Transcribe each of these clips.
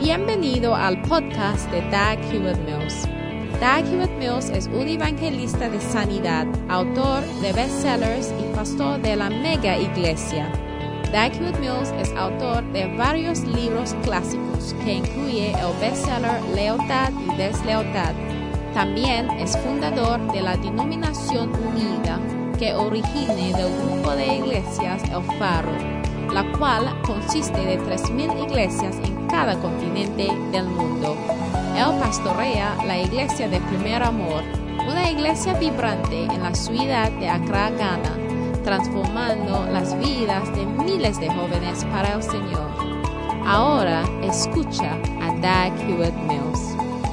Bienvenido al podcast de Dag Hewlett-Mills. Dag Hewlett-Mills es un evangelista de sanidad, autor de bestsellers y pastor de la mega iglesia. Dag Hewlett-Mills es autor de varios libros clásicos que incluye el bestseller Lealtad y Deslealtad. También es fundador de la Denominación Unida, que origina del grupo de iglesias El Faro, la cual consiste de 3,000 iglesias en cada continente del mundo. Él pastorea la iglesia de Primer Amor, una iglesia vibrante en la ciudad de Accra, Ghana, transformando las vidas de miles de jóvenes para el Señor. Ahora escucha a Dag Hewlett-Mills.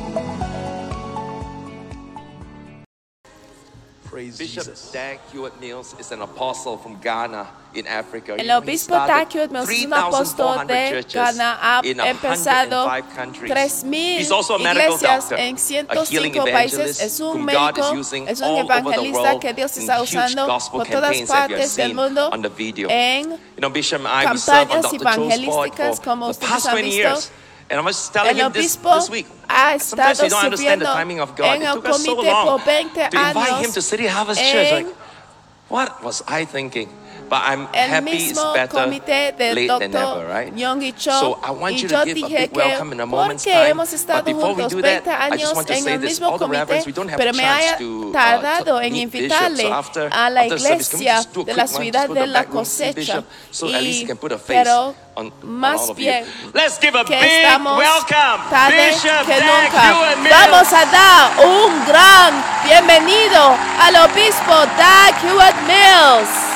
Bishop Dag Hewlett-Mills is an apostle from Ghana in Africa. El obispo Dag Hewlett-Mills es un apóstol de Ghana. Ha empezado 3,000 iglesias en 105 países. Es un médico, es un evangelista que Dios está usando por todas partes del mundo en campañas evangelísticas, como ustedes han visto. And I was telling him this week. Sometimes you don't understand the timing of God. It took us so long to invite him to City Harvest Church. Like, what was I thinking? But I'm happy it's better late than never, right? So I want you to give a big welcome in a moment's time. But before we do that, I just want to say this. All the reverends, we don't have a chance to meet Bishop. So after the service, can we just do a quick one? Just go to the back room, see Bishop, so at least he can put a face on all of you. Let's give a big welcome, Bishop Dag Hewlett-Mills. Vamos a dar un gran bienvenido al obispo Dag Hewlett-Mills.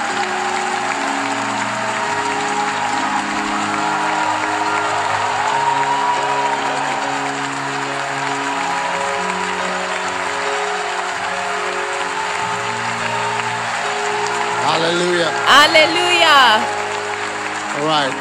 Hallelujah. Aleluya. All right.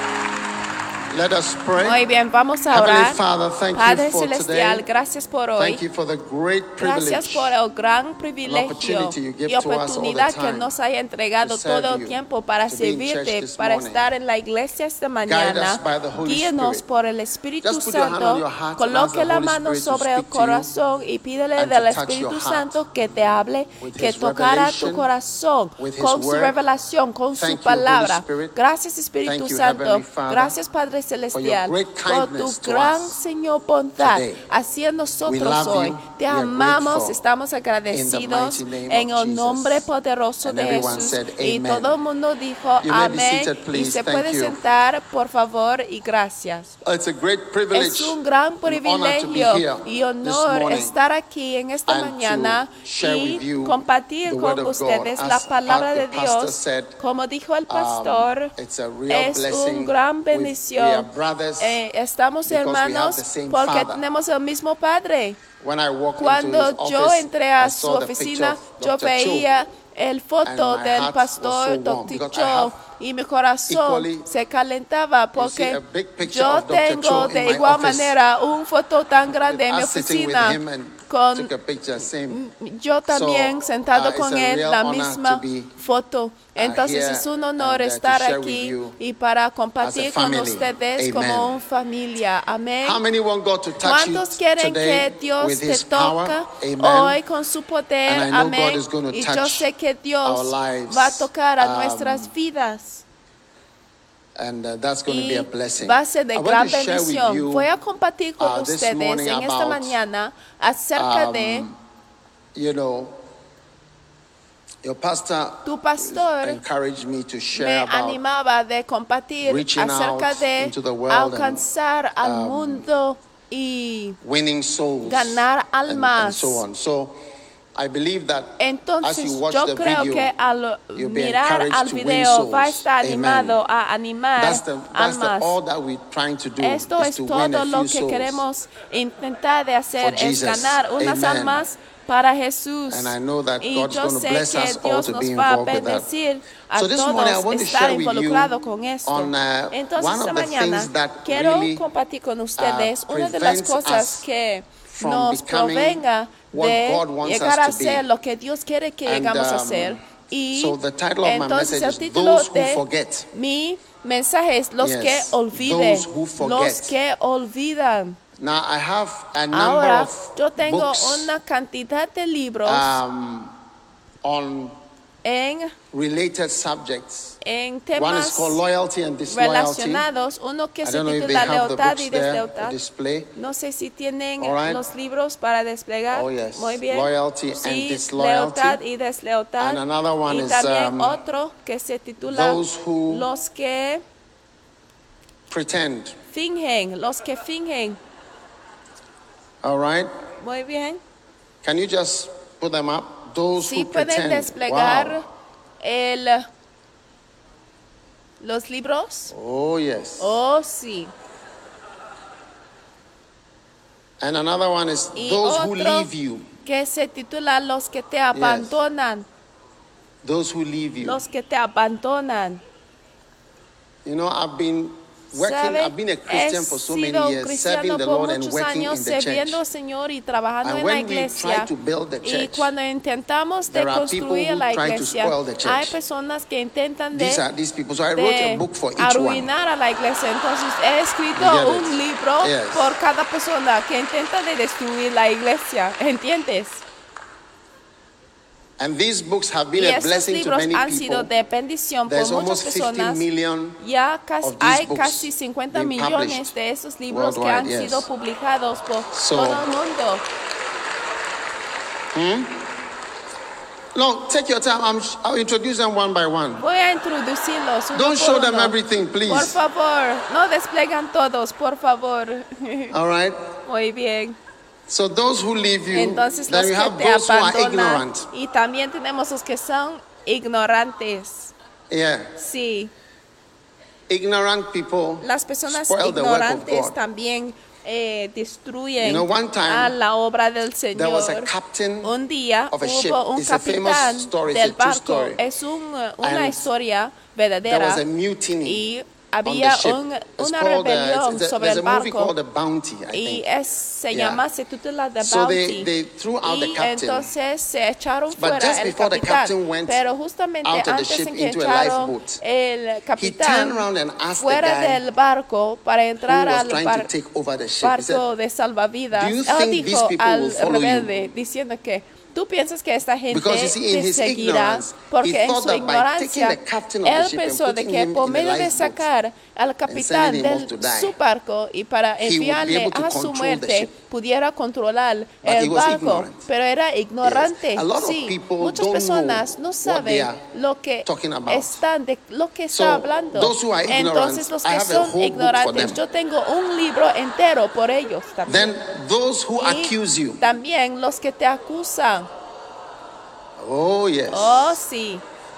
Let us pray. Muy bien, vamos a Heavenly orar. Father, thank Padre you for Celestial, today. gracias por hoy. Thank you for the great Gracias privilege por el gran privilegio opportunity you give y to us all the oportunidad que time nos haya entregado to serve todo el you, tiempo para to be in church servirte, this para morning. estar en la iglesia esta Guide mañana. us by the Holy Guíenos Spirit. por el Espíritu Just put your hand on Santo. your heart and ask Coloque the la Holy mano Spirit to sobre el speak to you corazón y pídele and del to touch Espíritu your heart Santo que te hable, with que His tocara tu revelation, corazón with His con su word. revelación, con Thank su you, palabra. Holy Spirit. Gracias Espíritu Thank you, Santo. Heavenly Father, Gracias Padre Celestial great por tu kindness to gran us Señor bondad today. hacia We nosotros love hoy. you. Te We are amamos, grateful. estamos In agradecidos the mighty name en of el nombre Jesus. poderoso And de everyone Jesús. said, Y amen. todo el mundo dijo You may be amén. seated, Y please. se Thank puede you. sentar, por favor, y gracias. It's a great privilege Es un gran and honor to be privilegio here y this honor morning estar aquí en esta and mañana to share with y you compartir the con word of ustedes God. la As palabra the de pastor Dios. said, Como dijo el pastor, it's a real es blessing. un gran We are bendición. brothers Estamos because we have hermanos the same porque Father. tenemos el mismo Padre. When I walked into Cuando his yo office, entré a I su saw the oficina, picture of yo Dr. Cho, veía el foto and my del heart was so pastor warm Dr. because I Cho have y mi corazón equally, se calentaba you see, porque a big picture yo of Dr. Cho tengo in de my igual office. manera un foto tan grande en mi Us sitting with oficina him and con took a picture, same. yo también So, sentado it's con a él, real la honor misma to be, foto. Entonces here es un honor and, to estar share with aquí you y para as compartir a con family. ustedes Amen. como una familia. Amén. How many want God to touch you ¿Cuántos quieren today que Dios with te His power? toca Amen. hoy con su poder? And I know Amén. God is going to Y touch yo sé que Dios our lives. va a tocar a nuestras vidas. And that's going to be Y a blessing. va a ser de I gran want to share with bendición. you Voy a compartir con this ustedes morning en esta about, mañana acerca de you know, your pastor tu pastor. encouraged me to Me share about animaba de compartir reaching acerca out de into the world alcanzar al mundo y winning souls ganar and almas. so on. So I believe that as Entonces you watch yo the creo video, que al you'll be mirar encouraged al to win video souls. va a estar animado Amen. a animar almas. All that we're trying to do Esto is es to win todo a lo few que souls. queremos intentar de hacer, For es Jesus. ganar unas Amen. almas para Jesús. And I know that Y God's yo going to sé bless que us all Dios to nos be va a involved with that. bendecir a So this morning I todos want to estar share with you involucrados con esto. on Entonces one esta of the mañana things that quiero really compartir con ustedes una de las prevents cosas us que from nos becoming provenga what de God wants llegar us a to be. ser lo que Dios quiere que And, llegamos a ser. Y so the title of my entonces message el is título Those Who de Forget. mi mensajes, los que olviden, los que olvidan. Now I have a number Ahora, of yo tengo books, una cantidad de libros on en related subjects. One is temas called loyalty and disloyalty. Relacionados, uno que se titula lealtad y deslealtad. No sé si tienen los libros para desplegar. Muy bien. Loyalty sí, and disloyalty. Lealtad y deslealtad. And another one y is, también otro que se titula los que pretend. Fingen, los que fingen. All right. Muy bien. Can you just put them up? Those sí, who pretend. pueden desplegar wow. los libros. Oh, yes. Oh, sí. And another one is those who leave you. Que se titula los que te abandonan. Yes. Those who leave you. Los que te abandonan. You know, I've been a Christian for so many years, serving the Lord and working in the church. Señor, y trabajando and en when la iglesia, we try to build the church, y cuando intentamos de construir la iglesia, hay personas que intentan de arruinar a la iglesia. Entonces he escrito un libro por cada persona que intenta de destruir la iglesia. ¿Entiendes? And these books have been a blessing to many han sido de bendición por muchas personas. Ya hay casi 50 millones de esos libros que han sido publicados por todo el mundo. No, take your time. I'll introduce them one by one. Voy a introducirlos uno Don't por show uno. them everything, please. Por favor, no desplegan todos, por favor. All right. Muy bien. So those who leave you, entonces then we have those who are ignorant. Y también tenemos los que son ignorantes. Yeah. Sí. Ignorant people las personas spoil ignorantes the work of God. También destruyen one time, a la obra del Señor. There was a captain un día of a ship. hubo un It's capitán del barco. Es una historia verdadera. There was a mutiny. Y había una rebelión sobre el barco y se titula The Bounty. They threw out the captain. Entonces se echaron fuera el capitán, pero justamente antes de que echaron el capitán fuera del barco para entrar al barco de salvavidas, él dijo al rebelde diciendo que ¿tú piensas que esta gente te seguirá? Porque en su ignorancia, él pensó de que por medio de sacar al capitán de su barco y para enviarle a su muerte, pudiera controlar el barco. Pero era ignorante. Sí, muchas personas no saben lo que está hablando. Entonces, los que son ignorantes, yo tengo un libro entero por ellos también. También los que te acusan. Oh, yes. Oh, sí.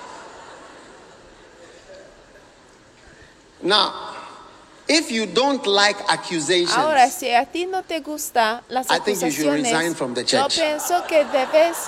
Now, if you don't like accusations, ahora, si a ti no te gusta las acusaciones, yo pienso que debes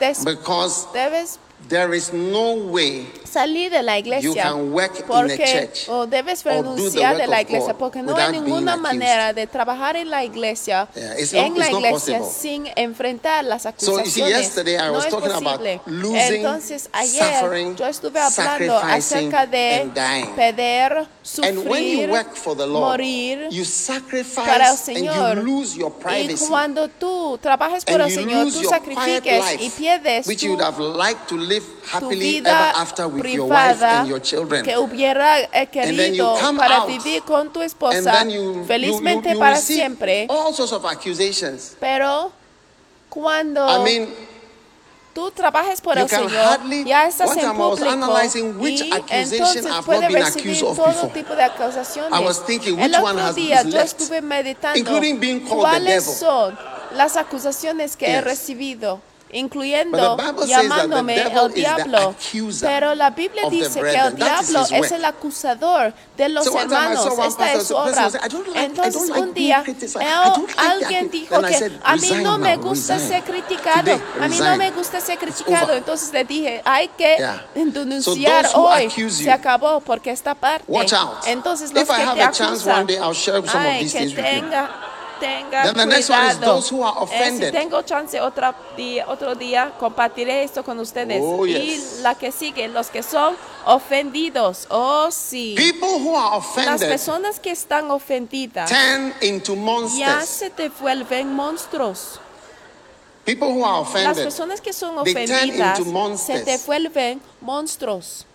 there is no way salir de la iglesia you can work in a church o debes renunciar de la iglesia porque no hay ninguna manera de trabajar en la iglesia sin enfrentar las acusaciones. No es posible. Entonces ayer yo estuve hablando acerca de perder, sufrir, morir para el Señor. Y cuando tú trabajas por el Señor, tú sacrifiques y pierdes tu vida privada que hubiera querido para vivir con tu esposa felizmente para siempre. Pero cuando tú trabajas por el Señor, ya estás en público y entonces puedes recibir todo tipo de acusaciones. El otro día yo estuve meditando cuáles son las acusaciones que he recibido, incluyendo llamándome el diablo. Pero la Biblia dice que el diablo es el acusador de los hermanos. Esta es su obra. Entonces un día alguien dijo que a mí no me gusta ser criticado. A mí no me gusta ser criticado. Entonces le dije, hay que denunciar hoy. Se acabó porque esta parte. Entonces los que te acusan, tenga Then the next one is cuidado. those who are offended. Si tengo chance otro día compartiré esto con ustedes. Oh, yes. Y la que sigue, los que son ofendidos. Oh, sí. People who are Las offended personas que están ofendidas turn into ya monsters. se te vuelven monstruos. People who are Las offended, personas que son they turn ofendidas into monsters. se te vuelven monstruos.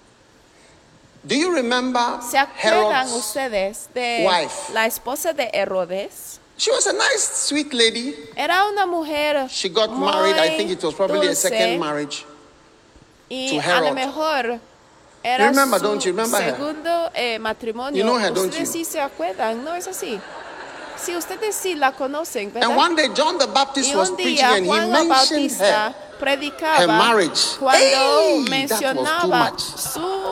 Do you remember ¿Se acuerdan Herod's ustedes de wife? la esposa de Herodes? She was a nice, sweet lady. Era una mujer She got muy married. I think it was probably a dulce, second marriage. y to a lo Herod. mejor era Remember, su don't you remember her? segundo matrimonio. You know her, don't Ustedes you? sí se acuerdan, ¿no es así? Sí, ustedes sí la conocen, ¿verdad? And one day John the Baptist Y was un preaching día and he Juan el mentioned Bautista her predicaba marriage. cuando Hey, that was mencionaba too much. su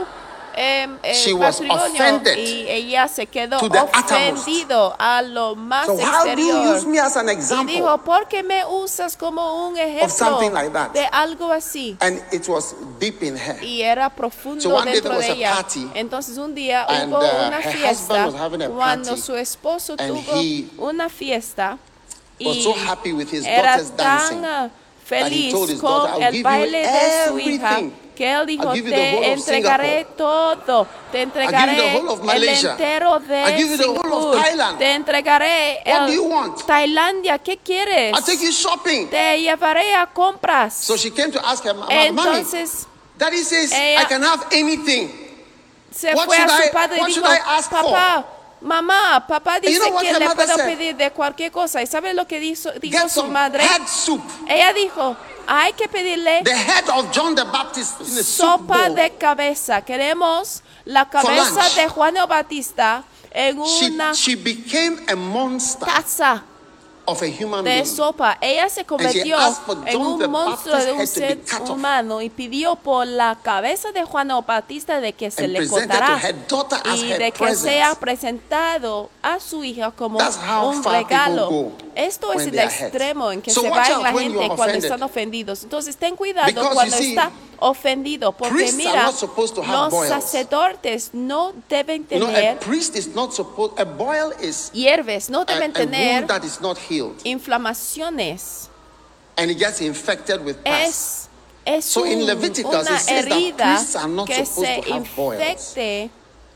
She was matrimonio, offended y ella se quedó to the uttermost. ofendido a lo más So how do you exterior. use me as an Y example? dijo, ¿por qué me usas como un ejemplo something like that? de algo así? And it was deep in her. Y era profundo So one day dentro there was de a ella. party, Entonces un día and, hubo una her fiesta husband was having a cuando party, su esposo and tuvo he una fiesta was y so happy with his era daughter's dancing tan that he feliz told his con daughter, "I'll el give you baile de su hija everything. que él dijo, I'll give you the whole te of entregaré Singapore. todo, te entregaré whole of el Malaysia. entero de I'll give you the whole of Singapur, Thailand. te entregaré What do you el want? Tailandia, ¿qué quieres? I'll take you shopping." Te llevaré a compras. So she came to ask her mom, Entonces Daddy says ella- I can have anything. se What fue a should su I- padre y what dijo, should I ask for? papá, mamá, papá dice you know what que her le mother puedo said? pedir de cualquier cosa. ¿Y sabe lo que dijo Get su some madre? head soup. Ella dijo, hay que pedirle The head of John the Baptist in a soup sopa bowl. de cabeza. Queremos la cabeza lunch. de Juan el Bautista en una She became a monster taza of a human de being. sopa. Ella se convirtió asked for en John the un monstruo Baptist de un head to be ser cut off. humano y pidió por la cabeza de Juan el Bautista de que se And le presented cortará to her daughter as y her de que present. sea presentado a su hija como That's how un far regalo. people go Esto es when el they are hurt. extremo en que So se watch va out la when you gente are cuando offended. están ofendidos. Entonces ten cuidado Because cuando you see, está ofendido, porque priests are mira, not supposed to have los boils. sacerdotes no deben You know, a tener priest is not supposed. A boil is hierbes, no a deben wound tener that is not healed, inflamaciones. and it gets infected with pus. Es So in Leviticus, una it says that herida priests are not que supposed se to have boils. infecte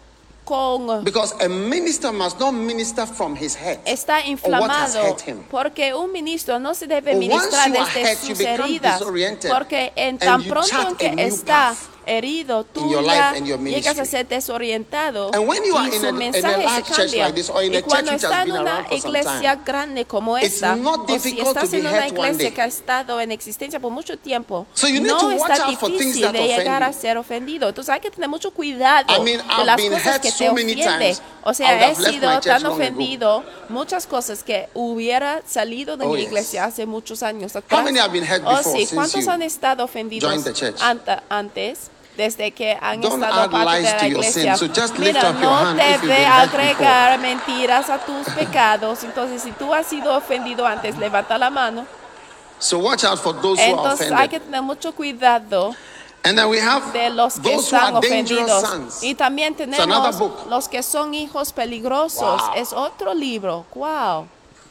con Because a minister must not minister from his head está or what has inflamado, hurt him. porque un ministro no se debe But ministrar once you are desde hurt, you sus become heridas, disoriented porque en and tan you pronto chart en a que new está path herido, tú in your ya life and your llegas a ministry. ser desorientado And when you are y in su a mensaje large se church cambia. like this, or in a Y cuando church which está has en been una around for some iglesia time, grande como it's esta, not o si difficult estás to be en una hurt one iglesia day. que ha estado en existencia por mucho tiempo, So you need no to watch está out for things difícil that de offend llegar a you. ser ofendido. Entonces hay que tener mucho cuidado I mean, de I've las been cosas hurt que te so many ofenden. times, O I sea, would he have left sido my church tan long ago. ofendido, muchas cosas que hubiera salido de Oh, mi yes. iglesia hace muchos años atrás. many have been hurt Oh, before sí, since ¿cuántos you han estado ofendidos joined the church? antes? Desde que han Don't estado add parte de lies la to your iglesia. sin, so just lift Mira, up your no hand if you've debe been hurt before. agregar mentiras a tus pecados. Entonces, si tú has sido ofendido antes, levanta la mano. So watch out for those who are Entonces hay que offended. tener mucho cuidado And then we have de los que those who están are dangerous ofendidos. sons. Y también another tenemos book. los que son hijos peligrosos. Wow. Es otro libro. Wow.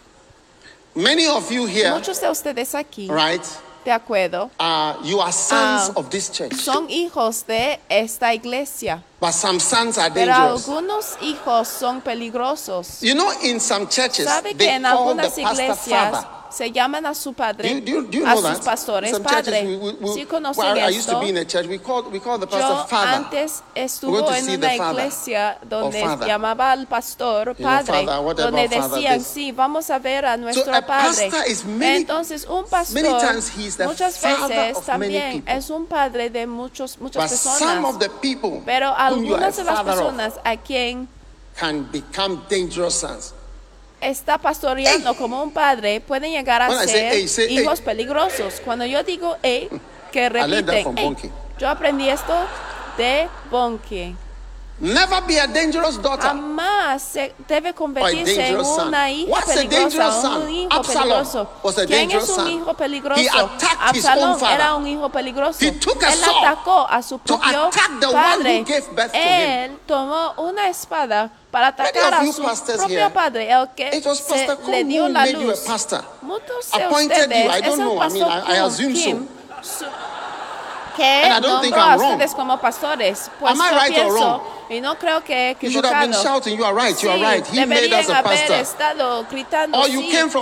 Many of you here, Muchos de ustedes aquí, right, de acuerdo, you are sons of this church. son hijos de esta iglesia. But some sons are Pero dangerous. algunos hijos son peligrosos. You know, in some churches, ¿Sabe que they en call the algunas pastor iglesias father. se llaman a su padre, Do you a know sus that? pastores Some padre? churches, ¿Sí conocen well, I used to esto? be in a church. We call the pastor Yo father. antes We're estuve going to en see una the father iglesia donde or father. llamaba al pastor You know, padre, father, whatever donde father decían, this. sí, vamos a ver a nuestro a padre. pastor is many- Entonces, un pastor many times he is the muchas father veces of many también people. es un padre de muchas But personas. some of the people Pero whom you are a algunas de las father of personas a quien can become dangerous sons. está pastoreando como un padre pueden llegar a When I ser say, hey, hijos peligrosos. Cuando yo digo que learned that from repiten, Bonke. yo aprendí esto de Bonke. Never be a dangerous daughter. Jamás se debe convertirse en dangerous son. una hija What's a peligrosa, dangerous son? un hijo Absalom peligroso. was a ¿Quién dangerous es un son. hijo peligroso? He attacked his own Absalom father. era un hijo peligroso. He took a Él sword atacó a su to propio attack the one padre. who gave birth to him. Él tomó una espada para atacar a su propio padre, el que le dio la luz. Muchos de ustedes es el pastor Kim, que nombró a ustedes como pastores. Pues yo pienso, y no creo que he equivocado. Deberían haber estado gritando, tienes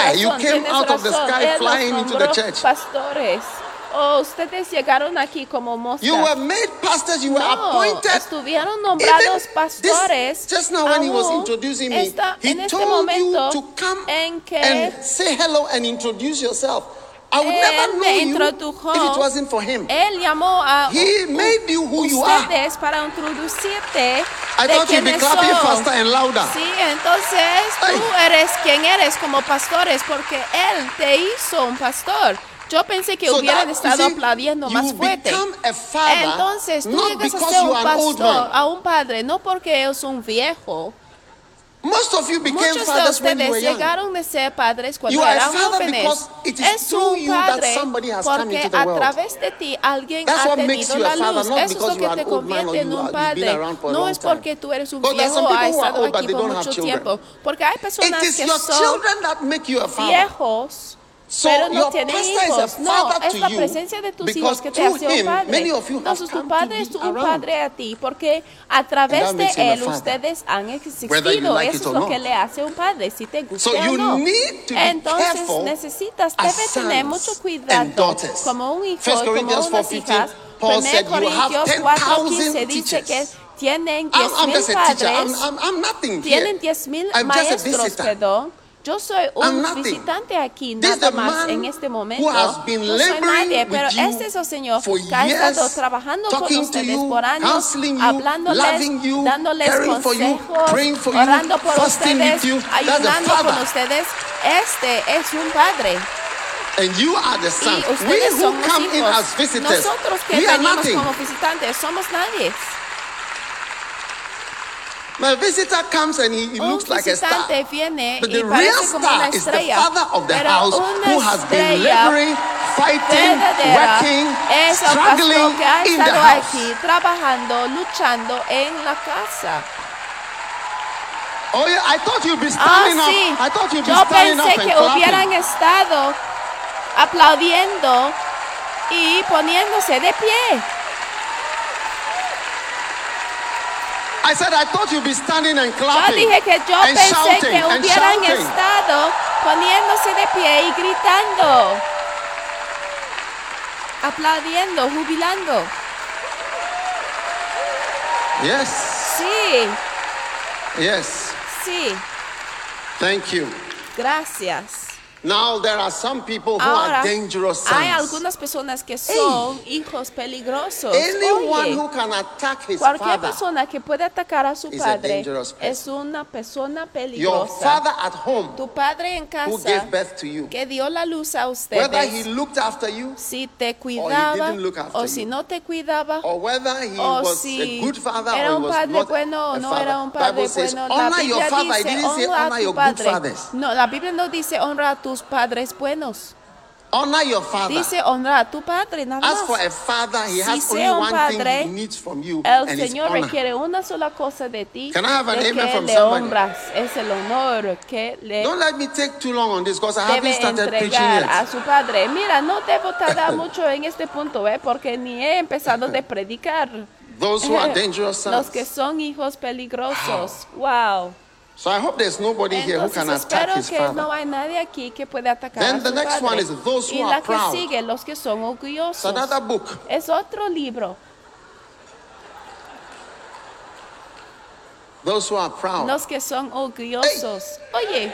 razón, pastores. Oh, ustedes llegaron aquí como moscas. You were made pastors, you were appointed. Estuvieron nombrados pastores. Just now when he was introducing me, he told you to come and say hello and introduce yourself. I would never know you if it wasn't for him. Él llamó a He made you who you are. ustedes para introducirte. I thought you'd be clapping faster and louder. Sí, entonces tú eres quien eres como pastores porque él te hizo un pastor. Yo pensé que hubieran estado aplaudiendo más fuerte. Entonces, tú llegas a ser un pastor, a un padre, no porque es un viejo. Muchos de ustedes llegaron a ser padres cuando eran jóvenes. Es un padre porque a través de ti alguien ha tenido la luz. Eso es lo que te convierte en un padre. No es porque tú eres un viejo o has estado aquí por mucho tiempo. Porque hay personas que son viejos, pero no tienen hijos. No, es la presencia de tus hijos que te hace un padre. Entonces tu padre es un padre a ti porque a través de él ustedes han existido. Eso es lo que le hace un padre, si te gusta o no. Entonces debes tener mucho cuidado como un hijo, como unas hijas. 1 Corintios 4:15 dice que tienen 10,000 padres, tienen 10,000 maestros, perdón. Yo soy un visitante aquí, nada más en este momento. No soy nadie, pero este es el Señor que ha estado trabajando con ustedes por años, hablándoles, dándoles consejos, orando por ustedes, ayudando con ustedes. Este es un padre. And you are the son. Y ustedes son los hijos. Nosotros que venimos como visitantes somos nadie. My visitor comes and he looks like a star. But the real star is the father of the house who has been laboring, fighting, working, struggling in the house. Trabajando, luchando en la casa. Oh yeah, I thought you'd be standing up. I thought you'd be standing up and clapping. Yo pensé que hubieran estado aplaudiendo y poniéndose de pie. I said I thought you'd be standing and clapping. Yo dije que yo pensé que hubieran estado poniéndose de pie y gritando, aplaudiendo, jubilando. Yes. Sí. Yes. Sí. Thank you. Gracias. Now there are some people who are dangerous sons. Hay algunas personas que son hijos peligrosos. Anyone who can attack his cualquier father persona que puede atacar a su padre es una persona peligrosa. Your father at home, tu padre en casa, who gave birth to you, que dio la luz a ustedes, whether he looked after you, si te cuidaba o si no te cuidaba, or whether he was a good father era or un he was padre not bueno o no era un The padre Bible says, bueno. La honor your Biblia father. It dice didn't say honor your good fathers. No, la Biblia no dice honra a tus padres buenos. Honor your father. Dice honra a tu padre, nada más. As for a father, he has Si only sea un one padre, thing he needs from you, el and it's Señor honor. requiere una sola cosa de ti, Can I have an de amen que from le somebody? honras. Es el honor que le Don't let me take too long on this because I haven't debe started preaching entregar yet. a su padre. Mira, no debo tardar mucho en este punto, porque ni he empezado de predicar. Those who are dangerous sons. Los que son hijos peligrosos. Wow. So I hope there's nobody here who can attack his que father. no hay nadie aquí que pueda atacar Then a su the next padre. one is those who y are la que proud. sigue, los que son orgullosos. It's another book. Es otro libro. Those who are proud. Los que son orgullosos. Oye,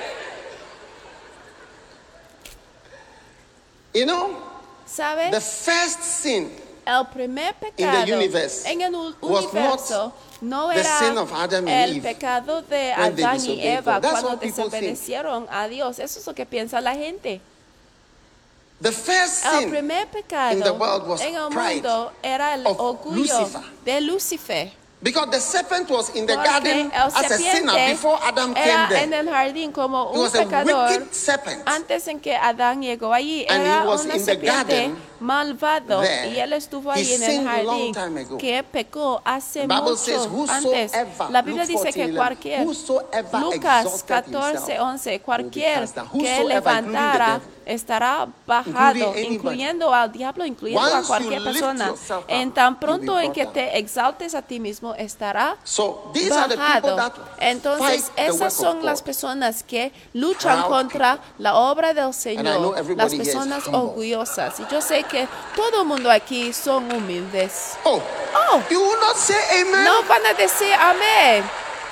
You know, ¿sabes? the first sin El primer in pecado the universe en el was universo no the era sin of Adam and el Eve pecado de when they Adán y disobeyed Eva God. That's cuando what people think. desobedecieron a Dios. Eso es lo que piensa la gente. The first El sin primer pecado in the world was en el pride mundo era el of orgullo Lucifer. de Lucifer. Because the serpent was in the garden as a sinner before Adam came there. En el jardín como un pecador antes en que Adán llegó allí. Era una serpiente malvado y él estuvo ahí en el jardín que pecó hace mucho antes. La Biblia dice que cualquier, Lucas 14:11, cualquier que levantara estará bajado, incluyendo al diablo, incluyendo a cualquier persona. En tan pronto en que te exaltes a ti mismo, estará bajado. Entonces, esas son las personas que luchan contra la obra del Señor, las personas orgullosas. Y yo sé que todo el mundo aquí son humildes. You will not say amen. No van a decir amén.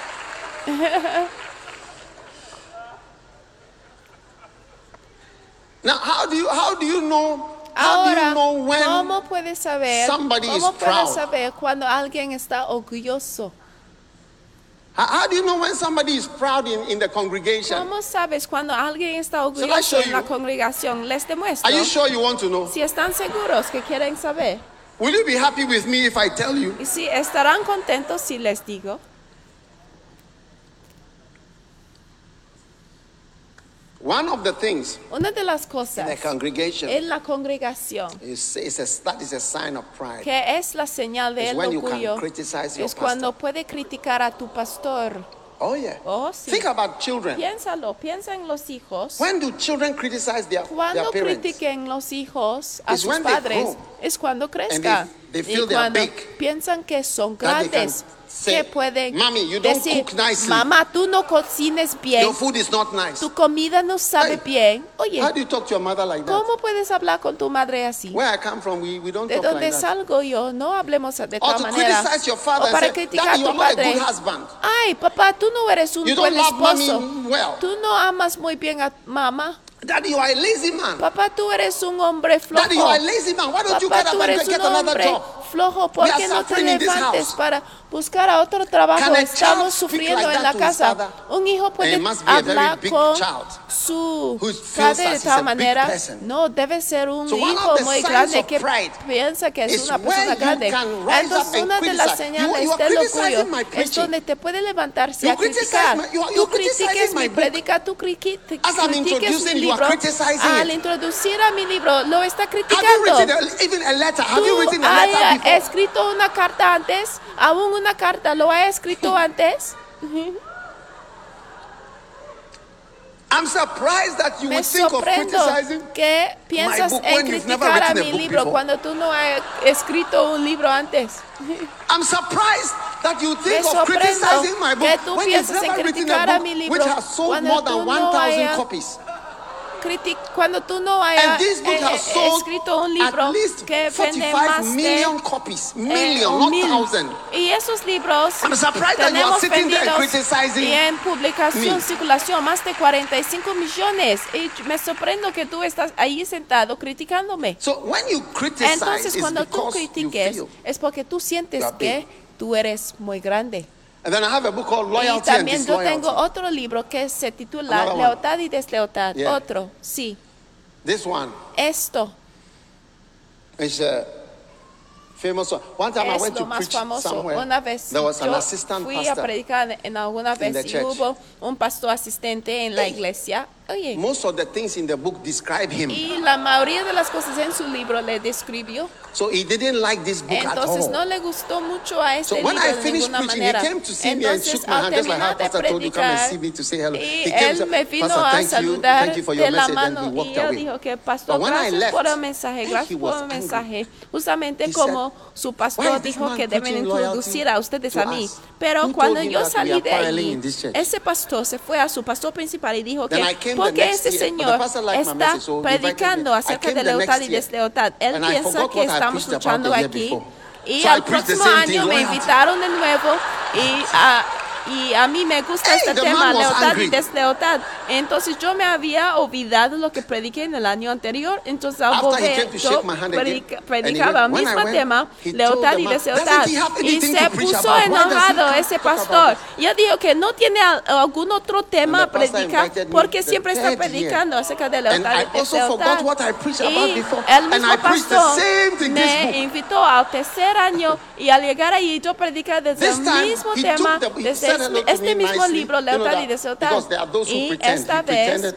Now, how do you know? Ahora, ¿cómo puedes saber? ¿Cómo puedes saber cuando alguien está orgulloso? How do you know when somebody is proud in the congregation? ¿Cómo sabes cuando alguien está orgulloso en la congregación? Les demuestro. Are you sure you want to know? Si están seguros que quieren saber. Will you be happy with me if I tell you? Y si estarán contentos si les digo. One of the things una de las cosas in the congregation en la congregación that is a sign of pride. Que es la señal de orgullo es cuando puede criticar a tu pastor. Oh yeah. Oh, sí. Think about children. Piénsalo, piensa en los hijos. When do children criticize their parents? Cuando critiquen los hijos a sus padres es cuando crezcan. They feel y cuando big, piensan que son grandes. Que pueden Mommy, you don't decir, cook nicely. Mamá, tú no cocines bien. Your food is not nice. Tu comida no sabe bien. Oye, how do you talk to your mother like that? ¿Cómo puedes hablar con tu madre así? Where I come from, we don't de talk donde like that. salgo yo, no hablemos de Or tal to manera. criticize your father O para and say, criticar Daddy, a tu you are not a padre. good husband. Ay, papá, tú no eres un You buen don't love esposo. mommy well. Tú no amas muy bien a mamá. Daddy, you are a lazy man. Papá, tú eres un hombre flojo. Daddy, you are a lazy man. Why don't you Papá, get tú up and eres get un another hombre job? flojo. ¿Por qué no te levantes para buscar a otro trabajo? Can a Estamos child speak sufriendo like en that la to his casa. father? Un hijo puede It must be a very hablar big con child su who feels padre that de he's tal a manera. big person. No, debe ser un So one hijo of the muy signs grande of que pride piensa que es is una persona where you grande. can rise up Entonces, and una de las criticize. señales You are del criticizing orgullo my es preaching. donde te puede levantarse You a criticar. you're Tú criticizing critiques my mi book. predica, tú As I'm critiques mi introducing, you are libro. criticizing Al it. introducir a mi libro, lo está Have you criticando. written even a letter? Have you ¿Tú written a letter hayas before? escrito una carta antes? ¿Aún una carta lo ha escrito antes? I'm surprised that you Me would think of sorprendo criticizing que piensas book en when you've never criticar a written a mi book libro before. cuando tú no has escrito un libro antes. I'm surprised that you think Me of sorprendo criticizing my que book tú when you've piensas en never written criticar a a mi book libro which has sold cuando more tú than no 1,000 hayas copies. Cuando tú no hayas And this book has sold escrito un libro at least que vende 45 más million de copies. Million, not 1,000. Y esos libros I'm surprised that you are tenemos sitting there vendidos criticizing y en publicación, me. circulación, más de 45 millones. Y me sorprendo que tú estás ahí sentado criticándome. So when you criticize, Entonces, it's cuando tú because you critiques, feel. es porque tú sientes you are que tú eres muy grande. And then I have a book called Y Loyalty and también yo Disloyalty. tengo otro libro que se titula Another one. Lealtad y Deslealtad. Yeah. Otro, sí. This one Esto is a famous one. One time I es went lo to más preach famoso. somewhere. Una vez There was an yo assistant fui a pastor. predicar en alguna in the vez y church. hubo un pastor asistente en la Hey. iglesia. Oye, Most of the things in the book describe him. y la mayoría de las cosas en su libro le describió. So he didn't like this book at Entonces all. no le gustó mucho a este So when libro I de finished ninguna preaching, he manera. came to see me and Entonces shook my al hand, just like how terminar de Pastor told you, come and predicar, see me to say hello. y He came él and me said, vino Pastor, a thank saludar you for de your la message, and mano he y walked él away. dijo que pastor, But when I gracias left, por el mensaje, he gracias was por el angry. mensaje. Justamente He como su "Why pastor is this dijo man que deben preaching introducir loyalty a ustedes to a mí. us? Pero Who cuando told him yo that we salí are de quarreling allí, in this church? ese pastor se fue a su pastor principal y dijo Then que I came the porque next ese year, but the señor pastor liked my está message, so he invited predicando me. I acerca came de the lealtad next y year, deslealtad. Él and I piensa forgot que what I estamos preached about luchando the year aquí. before. Y So I al preached the próximo same thing, año me loyalty. invitaron de nuevo y Y a mí me gusta este tema, lealtad y deslealtad. Entonces yo me había olvidado lo que prediqué en el año anterior. Entonces al volver, yo predicaba el mismo tema, lealtad y deslealtad. Y se puso enojado ese pastor. Y él dijo que no tiene algún otro tema a predicar porque siempre está predicando acerca de lealtad y deslealtad. Y el mismo pastor me invitó al tercer año y al llegar allí yo prediqué desde el mismo tema, desde este mismo libro, lealtad y deslealtad. Y esta vez,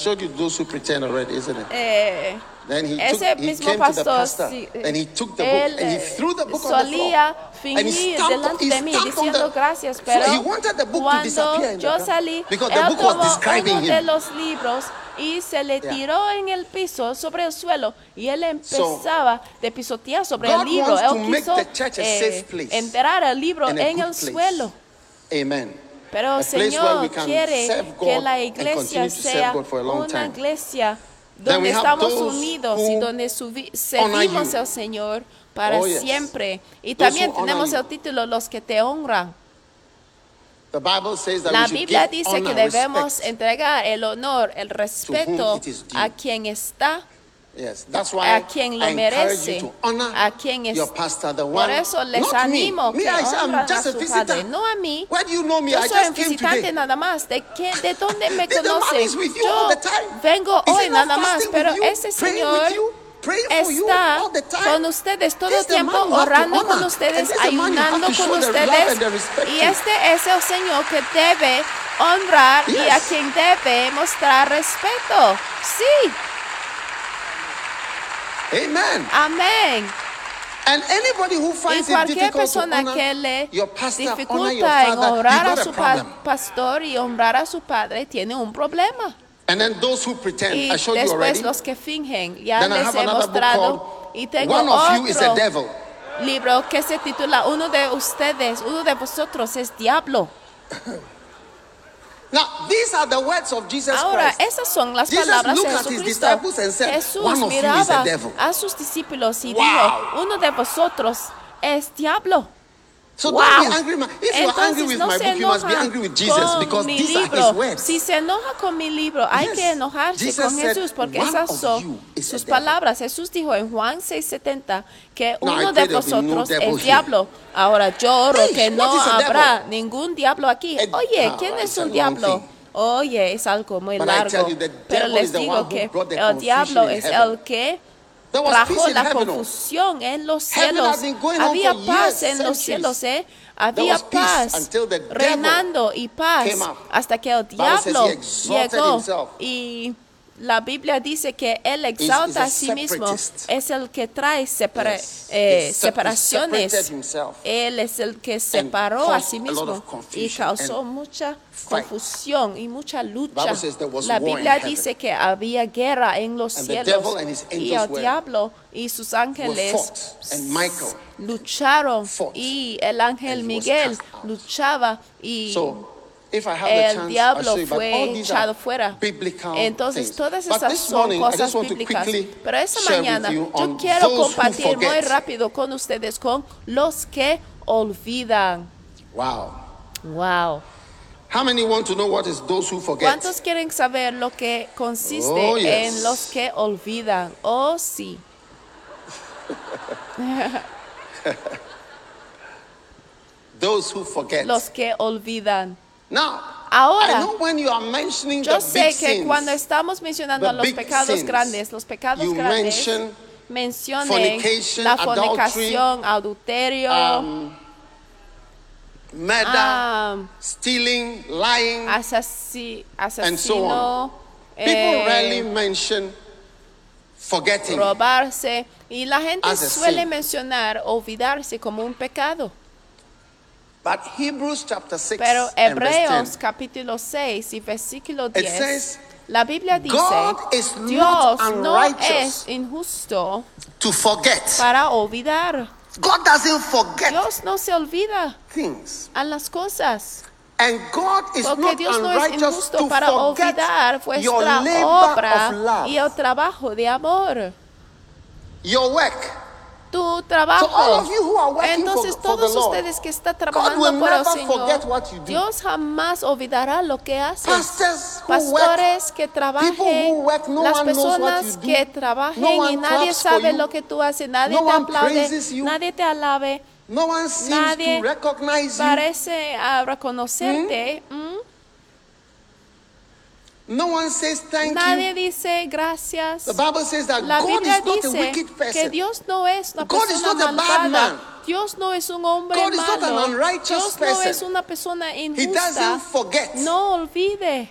ese mismo pastor, él solía fingir delante de mí diciendo gracias, pero cuando yo salí, él tomó uno de los libros y se le tiró en el piso, sobre el suelo, y él empezaba de pisotear sobre el libro. Él quiso enterrar el libro en el suelo. Pero el Señor quiere que la iglesia sea una iglesia donde estamos unidos y donde servimos al Señor para siempre. Y también tenemos el título, los que te honran. La Biblia dice que debemos entregar el honor, el respeto a quien está, a quien lo merece, a quien es. Por eso les animo que honran a su padre, no a mí. Yo soy un visitante nada más. ¿De dónde me conocen? Yo vengo hoy nada más, pero ese Señor está con ustedes todo el tiempo, orando con ustedes, ayunando con ustedes. Y este es el Señor que debe honrar y a quien debe mostrar respeto. Sí. Amén. Y cualquier persona que le dificulta en honrar a su pastor y honrar a su padre tiene un problema. Y después los que fingen, ya les he mostrado. Y tengo otro libro que se titula uno de ustedes, uno de vosotros es diablo. Ahora, esas son las palabras de Jesucristo. Jesús miraba a sus discípulos y dijo, uno de vosotros es diablo. Entonces no se enoja con mi libro. Si se enoja con mi libro, hay que enojarse con Jesús porque esas son sus palabras. Jesús dijo en Juan 6:70 que uno de vosotros es diablo. Ahora yo oro que no habrá ningún diablo aquí. Oye, ¿quién es un diablo? Oye, es algo muy largo. Pero les digo que el diablo es el que trajo la confusión en los cielos. Había paz en los cielos, había paz reinando y paz hasta que el diablo llegó. Y la Biblia dice que él exalta a sí mismo, es el que trae separaciones. Él es el que separó a sí mismo y causó mucha confusión y mucha lucha. La Biblia dice que había guerra en los cielos y el diablo y sus ángeles lucharon y el ángel Miguel luchaba y el diablo fue echado fuera. Entonces todas esas son cosas bíblicas. Pero esta mañana yo quiero compartir muy rápido con ustedes con los que olvidan. Wow. ¿Cuántos quieren saber lo que consiste en los que olvidan? Oh, sí. Los que olvidan. Ahora, yo sé que cuando estamos mencionando los pecados grandes, mencionen la fornicación, adulterio, murder, stealing, lying, asesino, people rarely mention forgetting. Robarse. Y la gente suele mencionar olvidarse como un pecado. But Hebrews chapter 6 Pero Hebreos capítulo 6 y versículo 10, la Biblia dice, Dios no es injusto para olvidar. God doesn't forget. Dios no se olvida a las cosas. And God is Porque Dios no es injusto para olvidar vuestra obra y el trabajo de amor. Your work. tu trabajo. So all of you who are working Entonces for todos the Lord, ustedes que están God trabajando will por el never Señor, forget what you do. Dios jamás olvidará lo que haces. Pastors who Pastores que people trabajen, who work, no las one knows what personas you do. que trabajen No one y nadie claps for sabe you. lo que tú haces, nadie No te one aplaude, praises you. nadie te alabe, No one seems nadie to recognize you. parece reconocerte. No one says thank Nadie you. dice gracias. The Bible says that La God Biblia is not a dice wicked que person. Dios no es una God is persona not a bad malvada. man. Dios no es un hombre God is not an malo. unrighteous Dios no person. es una persona He injusta. doesn't forget No olvide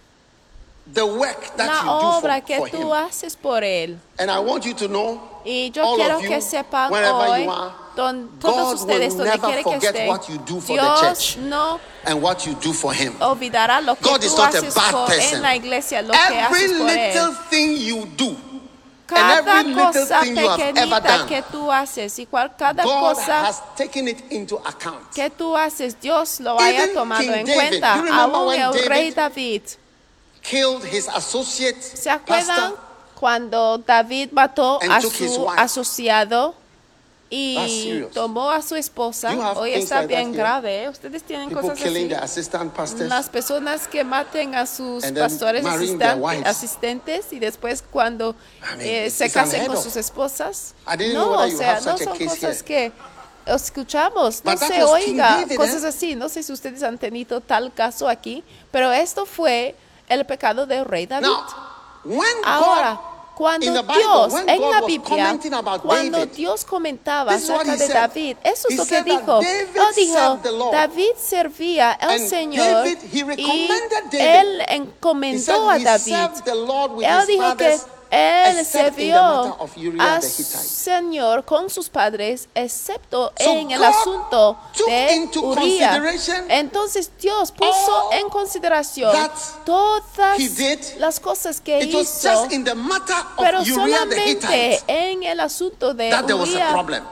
the work that la you do obra for que him. tú haces por él. And I want you to know, Y yo all quiero of you, que sepan wherever hoy, you are, todos God ustedes will donde never quiera que forget estén, what you do for the Dios church no and what you do for him. olvidará lo que God tú is not a haces bad person. en la iglesia, lo que Every haces por little él. thing you do, Cada and every little cosa thing you have ever pequeñita done, que tú haces y cada God cosa has taken it into account. que tú haces, Dios lo haya Even tomado King en David, cuenta. you remember Aún when el rey David David, Killed his associate ¿se acuerdan pastor cuando David mató and a took his su wife? asociado That's y serious. tomó a su esposa? You have Hoy things está like that bien here. grave. Ustedes tienen People cosas killing así. the assistant pastors. Las personas que maten a sus And then pastores marrying their wives. asistentes y después cuando I mean, se it's casen unheard con of. sus esposas. I didn't No, know o whether you sea, have no such a son case cosas here. que escuchamos, no But that se was King oiga, David, cosas así. No sé si ustedes han tenido tal caso aquí, pero esto fue el pecado del rey David. Now, when Ahora, God, cuando in the Bible, Dios, when en God la was Biblia, commenting about cuando David, Dios comentaba this is what acerca he de said. David, eso es He lo que said that dijo. David Él dijo, served the Lord. David servía al And Señor David, he y recommended David. él He encomendó said a he David. served the Lord with Él his dijo que fathers, él except in the sirvió matter of Uriah al the Hittite. Señor con sus padres, excepto So en el God asunto took de into Uría. consideration Entonces Dios puso all en consideración that todas he did. las cosas que It was hizo, just in the matter pero of Uriah the solamente Hittite en el asunto de that there was a Uría problem.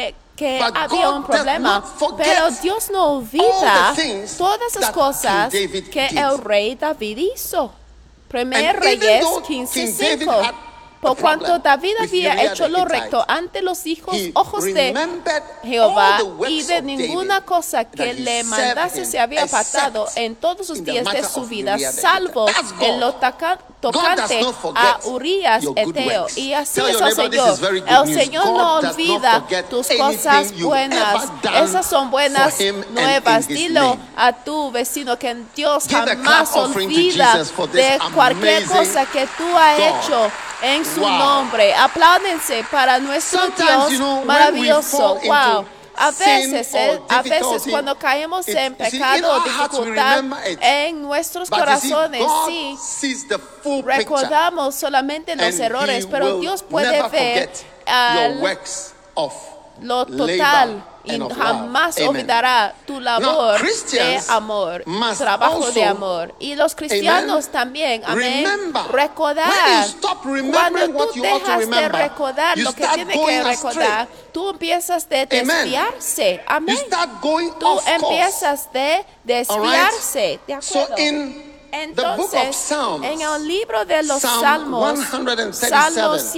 que But había God un does problema. not forget Pero Dios no olvida all the things todas las that cosas King David que did. el rey David hizo. Primer And even Reyes though King David 15:5. had Por a cuanto problem David with había Uriah hecho the lo Hittite, recto ante los he ojos de remembered Jehová all the works y de of ninguna David cosa that que he le served mandase him, se había apartado except en todos los in the días de matter su of vida, Uriah the salvo Hittite. That's God. en lo tocante not forget a Urías your good Eteo. works. Y así Tell es your el neighbor, this Señor. is very good El news. Señor God no does not olvida forget tus anything cosas you've buenas. ever done Esas son buenas for him and nuevas. in his Dilo name. a tu vecino que Dios Give a jamás clap offering to olvida Jesus for this de cualquier amazing cosa que tú has God. hecho en su Wow. nombre. Apláudense para nuestro Sometimes, Dios you know, when we maravilloso. fall Wow. into A sin veces, or a veces difficulty, cuando caemos en you see, in pecado o our hearts we dificultad remember it. en nuestros But you see, corazones, God sí, sees the full picture. recordamos solamente los And errores, he pero will Dios puede never ver forget your works of lo labor total y and of jamás love. Amen. olvidará tu labor de Christians amor, must trabajo de also, amor. Y los cristianos amen, también, amén, remember, recordar. when you stop remembering Cuando what tú you ought to dejas de remember, recordar you lo que start tienes going que astray. recordar, tú empiezas de Amen. desviarse, amén. You start going Tú off course. empiezas de desviarse, ¿de So acuerdo? in the book of Entonces, Psalms, en el libro de los Psalm Salmos, 137, Salmo it said,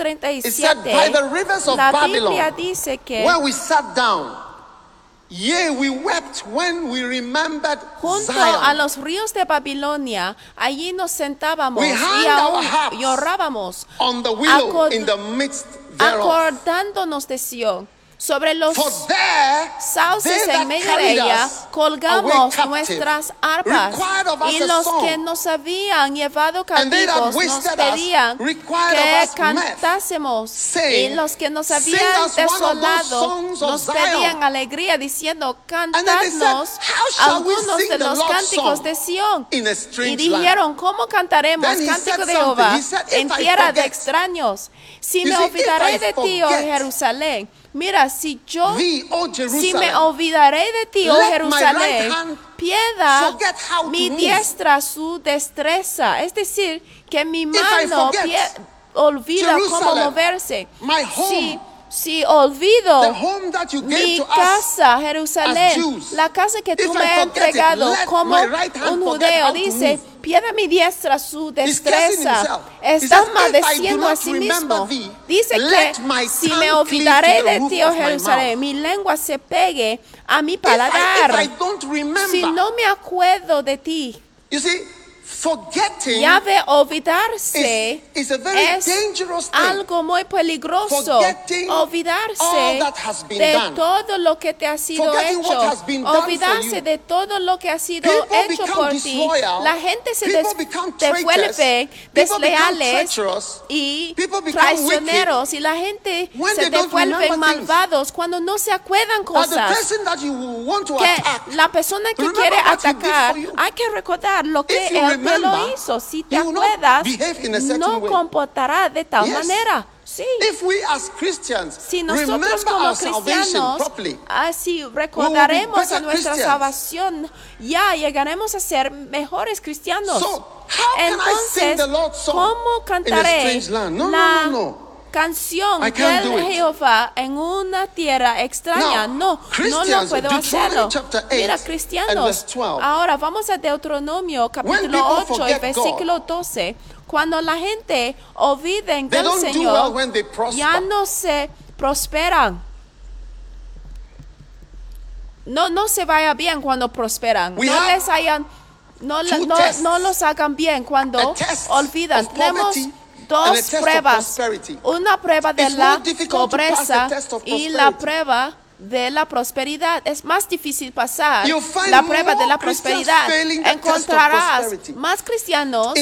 137, by the rivers of la Babylon, Biblia dice que where we sat down, yea, we wept when we remembered junto a Zion. los ríos de Babilonia, allí nos sentábamos We y hung aún our harps llorábamos, on the willow in the midst thereof. acordándonos de Sion. Sobre los For there, sauces they en that medio de carried ella us colgamos away captive nuestras arpas, required of us y a los song. que nos habían llevado And they that cautivos nos wasted us pedían required que of us cantásemos, saying, y los que nos "Sing habían us one of those desolado songs of nos Zion." pedían alegría diciendo, And then they said, cantadnos "How shall we algunos sing de the los Lord's cánticos song de Sión? in a Y strange dijeron, ¿cómo cantaremos Then he cántico said de Jehová something. He said, en "If I tierra de forget." extraños? Si You me see, olvidaré if I de ti, oh forget Jerusalén. Mira, si yo, thee, O si me Jerusalem, olvidaré de ti, oh let my Jerusalén, right hand pierda forget how to mi move. diestra su destreza. Es decir, que mi I mano forget olvida cómo Jerusalem, moverse. my home, Si olvido the home that you gave mi to us casa, as Jerusalén, Jews, la casa que tú if me I has forget it, entregado let como my right hand un forget judeo, how to dice, move. Piedra mi diestra su destreza. Está maldeciendo a sí mismo. Dice que si me olvidaré de ti, oh Jerusalén, mi lengua se pegue a mi paladar. Si no me acuerdo de ti. Ya de olvidarse is algo muy peligroso. Olvidarse de todo lo que te ha sido hecho. Olvidarse de todo lo que ha sido hecho por ti. La gente se devuelve desleales y traicioneros. Y la gente se devuelve malvados cuando no se acuerdan cosas. Que la persona que quiere atacar, hay que recordar lo que él te lo hizo. Si te acuerdas, no comportará de tal manera. Sí. Si nosotros como cristianos así recordaremos a nuestra salvación, ya llegaremos a ser mejores cristianos. Entonces, ¿cómo cantaré la canción de Jehová en una tierra extraña? No lo puedo hacerlo. Mira, cristianos, ahora vamos a Deuteronomio capítulo 8 y versículo 12. Cuando la gente olviden del Señor, ya no se prosperan. No se vaya bien cuando prosperan. No los hagan bien cuando olvidan. Tenemos dos pruebas. Una prueba de la pobreza y la prueba de la prosperidad. Es más difícil pasar la prueba de la prosperidad. Encontrarás más cristianos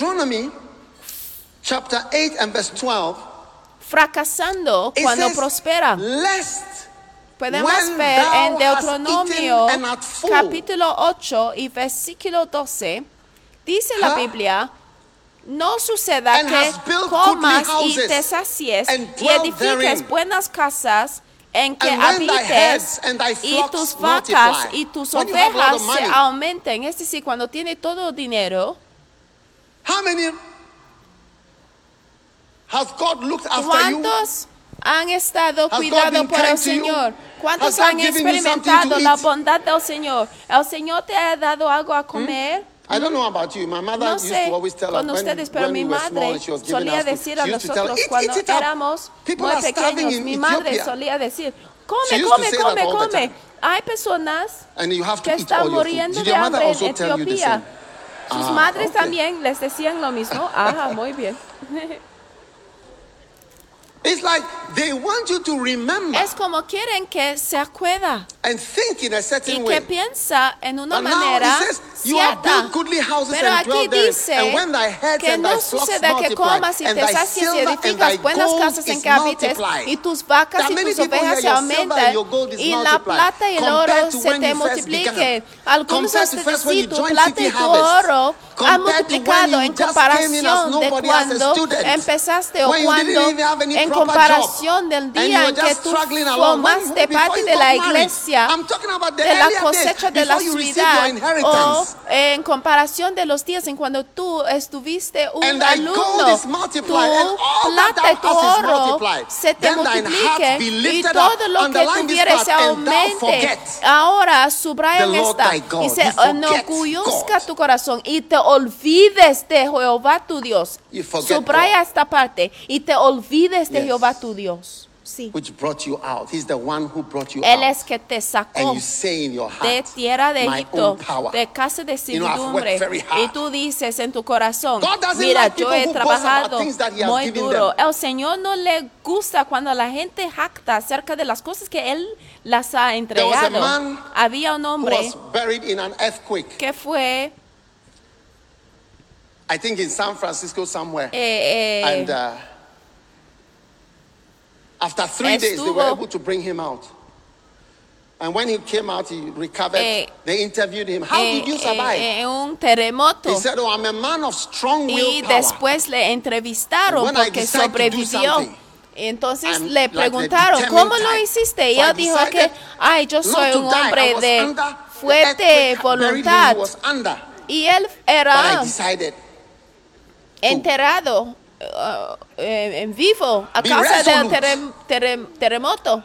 Chapter 8 and verse 12, fracasando cuando prosperan. Podemos ver en Deuteronomio capítulo 8 y versículo 12, dice la Biblia, no suceda que comas y te sacies y edifiques buenas casas en que habites y tus vacas y tus ovejas se aumenten. Es decir, cuando tiene todo dinero, ¿cuántos han estado cuidados por el Señor? ¿Cuántos han experimentado la bondad del Señor? ¿El Señor te ha dado algo a comer? No sé con ustedes, pero mi madre solía decir a nosotros cuando éramos muy pequeños, mi madre solía decir, come. Hay personas que están muriendo de hambre en Etiopía. Sus madres también les decían lo mismo. Muy bien. It's like they want you to remember. Es como quieren que se acuerda and think in a certain y way. que piensa en una manera cierta. Pero aquí dice que no suceda que comas y te sacies y edificas buenas casas en que habites y tus vacas y tus ovejas se aumentan y la plata y el oro se te multipliquen. Algunos hasta decir tu plata y tu oro han multiplicado en comparación de cuando empezaste o cuando en comparación del día en que tú formaste parte de la iglesia, de la cosecha de la ciudad, o en comparación de los días en cuando tú estuviste un alumno, tu plata y tu oro se te multiplique y todo lo que tuvieres se aumente. Ahora subrayan esta y se enorgullezca tu corazón y te olvides de Jehová tu Dios. Subraya esta parte y te olvides de Jehová tu Dios. Sí. Él es que te sacó de tierra de Egipto, de casa de servidumbre. Y tú dices en tu corazón, mira, yo he trabajado muy duro. El Señor no le gusta cuando la gente jacta acerca de las cosas que Él las ha entregado. Había un hombre que fue, I think in San Francisco somewhere. And after 3 days, they were able to bring him out. And when he came out, he recovered. They interviewed him. How did you survive? Un terremoto. He said, I'm a man of strong willpower. Y después le entrevistaron porque sobrevivió. Entonces le preguntaron, ¿cómo lo hiciste? Y él dijo que, yo soy un hombre de fuerte voluntad. Y él era enterrado en vivo a causa del terremoto.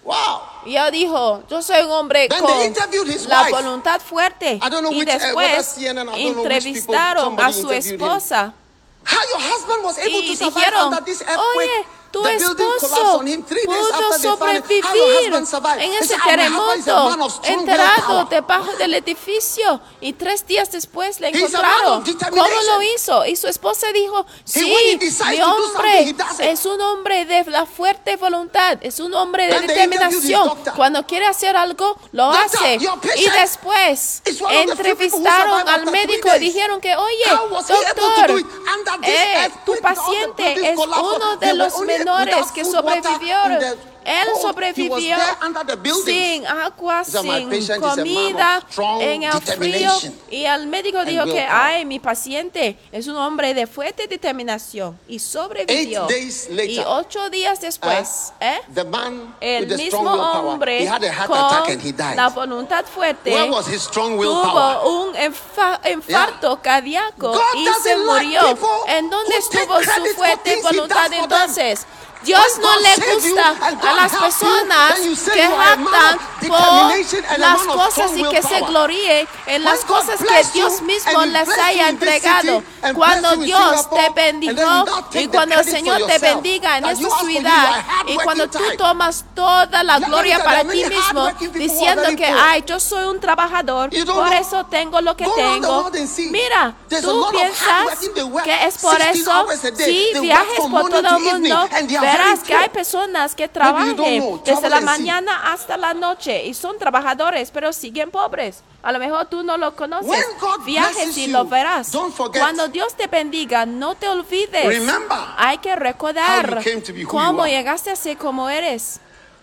Wow. Y él dijo, yo soy un hombre Then con they interviewed his la wife. voluntad fuerte. I don't know Y which, whether después CNN, I don't know which people, entrevistaron a somebody su interviewed him. esposa. How your husband was able Y to survive dijeron, under this earthquake? oye, tu The building collapsed esposo on him 3 days pudo after they found him. How your sobrevivir husband survived? en They ese said, "My husband is a man terremoto, of strong enterrado willpower." debajo del edificio, y 3 días después le He's a man encontraron. of determination. ¿Cómo lo hizo? Y su esposa dijo, when he sí, decides mi to do something, hombre he does it. es un hombre de la fuerte voluntad, es un hombre de Then they interviewed his determinación. doctor. Cuando quiere hacer algo, lo Doctor, hace. your patient Y después is one of the few people who entrevistaron survived al after 3 médico y days. dijeron que, oye, How was he able to do doctor, it under this earthquake tu with all the paciente buildings es collapsed? uno They de were los only menores without que food, water, sobrevivieron. in the Él cold. He was sobrevivió there under the buildings. sin agua, So my sin patient is a man comida, of strong en el frío. determination Y el médico dijo que, willpower. ay, mi paciente es un hombre de fuerte determinación y sobrevivió. 8 days later, Y 8 días después, the man el with the strong mismo willpower, hombre he had a heart attack and he con died. la voluntad fuerte Where was his strong willpower? tuvo un infarto cardíaco God y se doesn't like murió. people ¿En dónde who take estuvo su credit for fuerte things he voluntad does for them. entonces? Dios When no God le saved you gusta and a God las helped you, personas then you say que you are a man jactan of determination por and a las man of cosas strong y que se willpower. gloríe en las When God cosas que bless Dios you mismo and He les bless you haya in this entregado. city and Cuando bless you in Dios te Singapore, and then bendijo you not take y the cuando el credit for Señor te yourself, bendiga en that esta you ask for you ciudad are hard y cuando working tú type. tomas toda la Yeah, gloria look at para them, ti many mismo hardworking people who are diciendo very que, poor. ay, yo soy un trabajador, You don't por know. eso tengo lo que Go around the tengo. world and see. Mira, There's a tú lot of piensas hardworking, they work que es por 16 eso, hours a day. si They work viajes from por morning todo to el mundo, evening, and they are verás very que hay poor. personas que you don't know. trabajan desde Travel la and see. mañana hasta la noche y son trabajadores, pero siguen pobres. A lo mejor tú no lo conoces. When God Viajes blesses y you, lo verás. don't forget. Cuando Dios te bendiga, no te olvides. Remember Hay que recordar how you came to be who you cómo are. llegaste a ser como eres.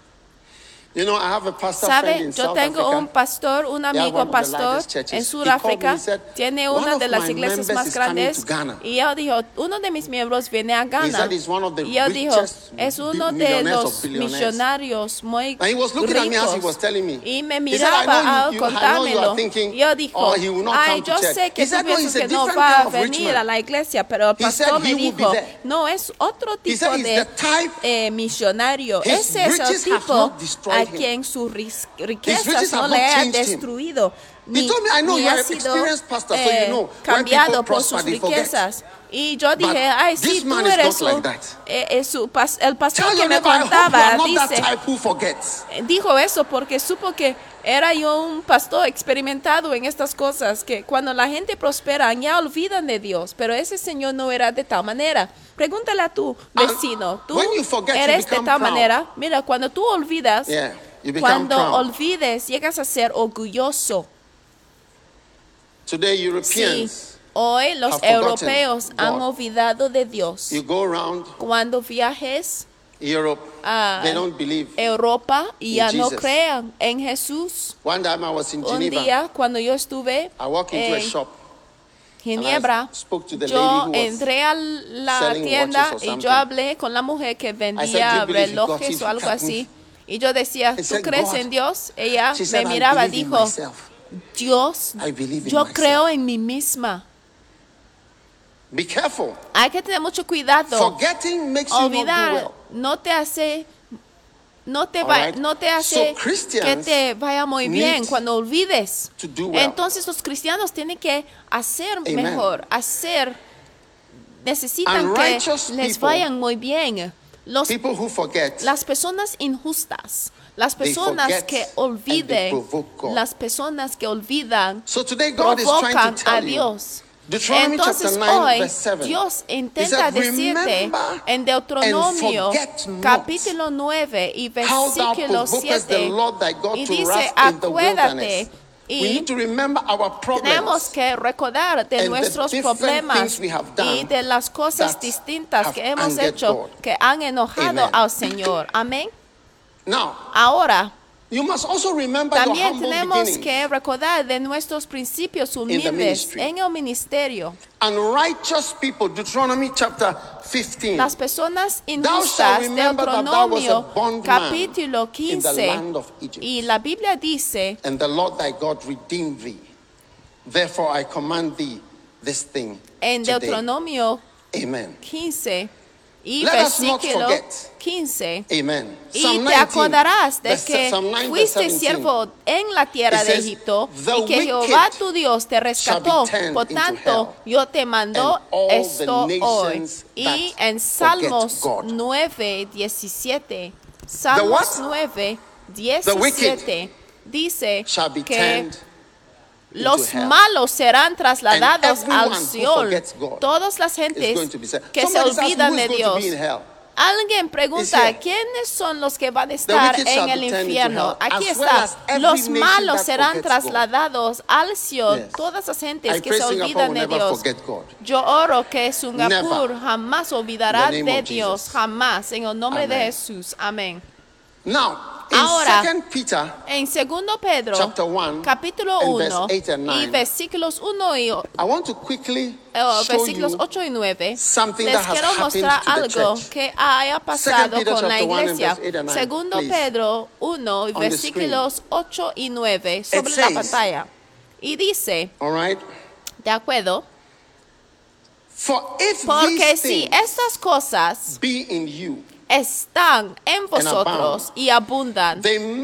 You know, I have a pastor friend ¿Sabe? in Yo South tengo Africa. un pastor, un They are amigo one of the pastor largest churches. en He Sudáfrica. called me, he said, Tiene "One una of de las my iglesias members más is coming grandes. to Ghana." Y él dijo, uno de mis miembros viene a He Ghana. said he's one of the Y él dijo, richest es uno de millionaires los of billionaires. millonarios muy And he was looking at me as he ricos. was telling me. Y me He said, "I miraba know al I know you contármelo. are thinking, Y yo dijo, oh, he will not ay, come to yo church." sé que He tú said, "No, piensas he's a que no different va kind a of rich venir man." a la iglesia, pero el He said pastor me he will be dijo, there. no, es otro He tipo said he's de the type, millonario. his Ese es el riches have tipo not destroyed a him. quien sus His riquezas riches no have le not han changed him. destruido. He told me, "I know Ni you are ha an sido experienced pastor, so you know when cambiado people por prosper, sus they forget." riquezas. Y yo dije, But ay, sí, this tú man is eres not like un, that. el pastor Tell que your me neighbor, I hope you contaba, are not that dice, type who forgets. dijo eso porque supo que era yo un pastor experimentado en estas cosas, que cuando la gente prospera ya olvidan de Dios, pero ese señor no era de tal manera. Pregúntale a tu vecino, ¿tú when you forget, you eres de become tal proud. manera? Mira, cuando tú olvidas, Yeah, you become cuando proud. olvides, llegas a ser orgulloso. Today, Sí, Europeans, hoy los have forgotten europeos han God. olvidado de Dios. you go around Cuando viajes Europe, a they don't believe. Europa y in ya no Jesus. crean en Jesús. One time I was in Un Geneva. día, cuando yo estuve I walked into a en shop. Ginebra, spoke to the yo lady who was entré a la selling tienda watches or y something. yo hablé con la mujer que I said, vendía "Do you believe in God?" relojes She o algo looked at así. me. Y yo decía, I ¿tú said, crees "God." en Dios? Ella She me said, "I miraba y believe in dijo, myself. Dios, I believe in yo myself." creo en mí misma. Be careful. Hay que tener mucho cuidado. Forgetting makes you not do Olvidar well. no te hace All right. no te hace So Christians que te vaya muy bien need cuando olvides. to do well. Entonces los cristianos tienen que hacer Amen. mejor, necesitan And que righteous les people, vayan muy bien. People who forget, Las personas injustas, las They personas forget que and they olviden, provoke God. las personas que olvidan, so today God is trying provocan to a tell you. Dios. Deuteronomy Entonces chapter 9, hoy verse 7. Dios He intenta said, decirte "Remember en Deuteronomio and forget not capítulo 9 y how thou versículo provokest the 7 Lord thy God y to dice, wrath in the acuérdate wilderness." We y need to remember our tenemos problems que recordar de and the nuestros different problemas things we have done y de las cosas that distintas have que hemos angered hecho God. que han enojado Amen. al Señor. Amén. Now, Ahora, you must also remember your también humble tenemos beginnings. que recordar de nuestros principios humildes ministry. en el ministerio. And righteous people, Deuteronomy chapter 15. Las personas Thou shalt injustas, remember that thou wast a Deuteronomio bondman capítulo in the 15, land of Egypt. y la Biblia dice, And the Lord thy God redeemed thee. Therefore I command thee this thing en today. Deuteronomio Amen. 15, Y versículo 15. Amen. Y te acordarás de que fuiste siervo en la tierra de Egipto y que Jehová tu Dios te rescató. Por tanto, yo te mando esto hoy. Y en Salmos 9, 17, Salmos 9, 17 dice que los malos serán trasladados al Seol. Todas las gentes que se olvidan de Dios. Alguien pregunta, ¿quiénes son los que van a estar en el infierno? Aquí está, los malos serán trasladados al Seol. Todas las gentes que se olvidan de Dios. Yo oro que Singapur jamás olvidará de Dios, jamás, en el nombre de Jesús. Amén. Ahora, en 2 Pedro, capítulo 1, y versículos 1 y versículos 8 y 9, les quiero mostrar algo que haya pasado con la iglesia. 2 Pedro 1, y versículos 8 y 9, sobre la pantalla. Y dice, ¿de acuerdo? Porque si estas cosas están en vosotros y abundan,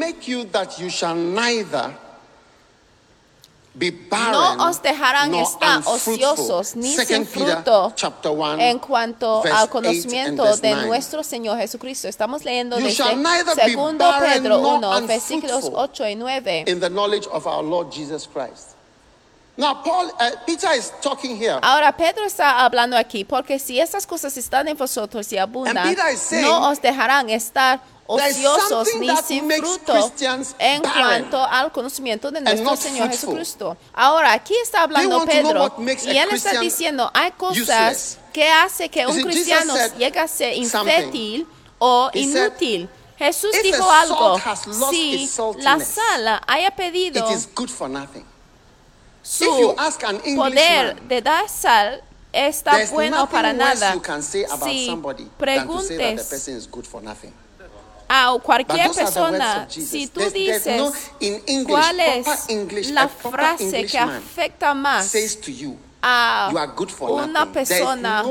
no os dejarán estar ociosos ni sin fruto en cuanto al conocimiento de nuestro Señor Jesucristo. Estamos leyendo desde 2 Pedro 1, versículos 8 y 9. Now, Peter is talking here. Ahora Pedro está hablando aquí, porque si estas cosas están en vosotros y abundan, no os dejarán estar ociosos ni sin fruto en cuanto al conocimiento de nuestro Señor Jesucristo. Ahora, aquí está hablando Pedro, y él está diciendo, hay cosas que hace que un cristiano llegue a ser infértil o inútil. Jesús dijo algo, si la sal haya perdido su poder de dar sal, está bueno para nada. Si preguntes a cualquier persona, si tú dices cuál es la frase que afecta más a una persona,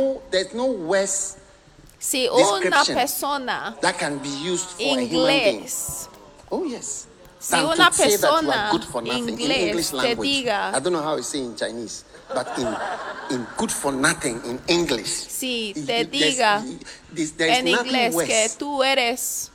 si una persona inglés, si una persona inglés te diga, I don't know how you say in Chinese, but in good for nothing in English. Si te diga en inglés que tú eres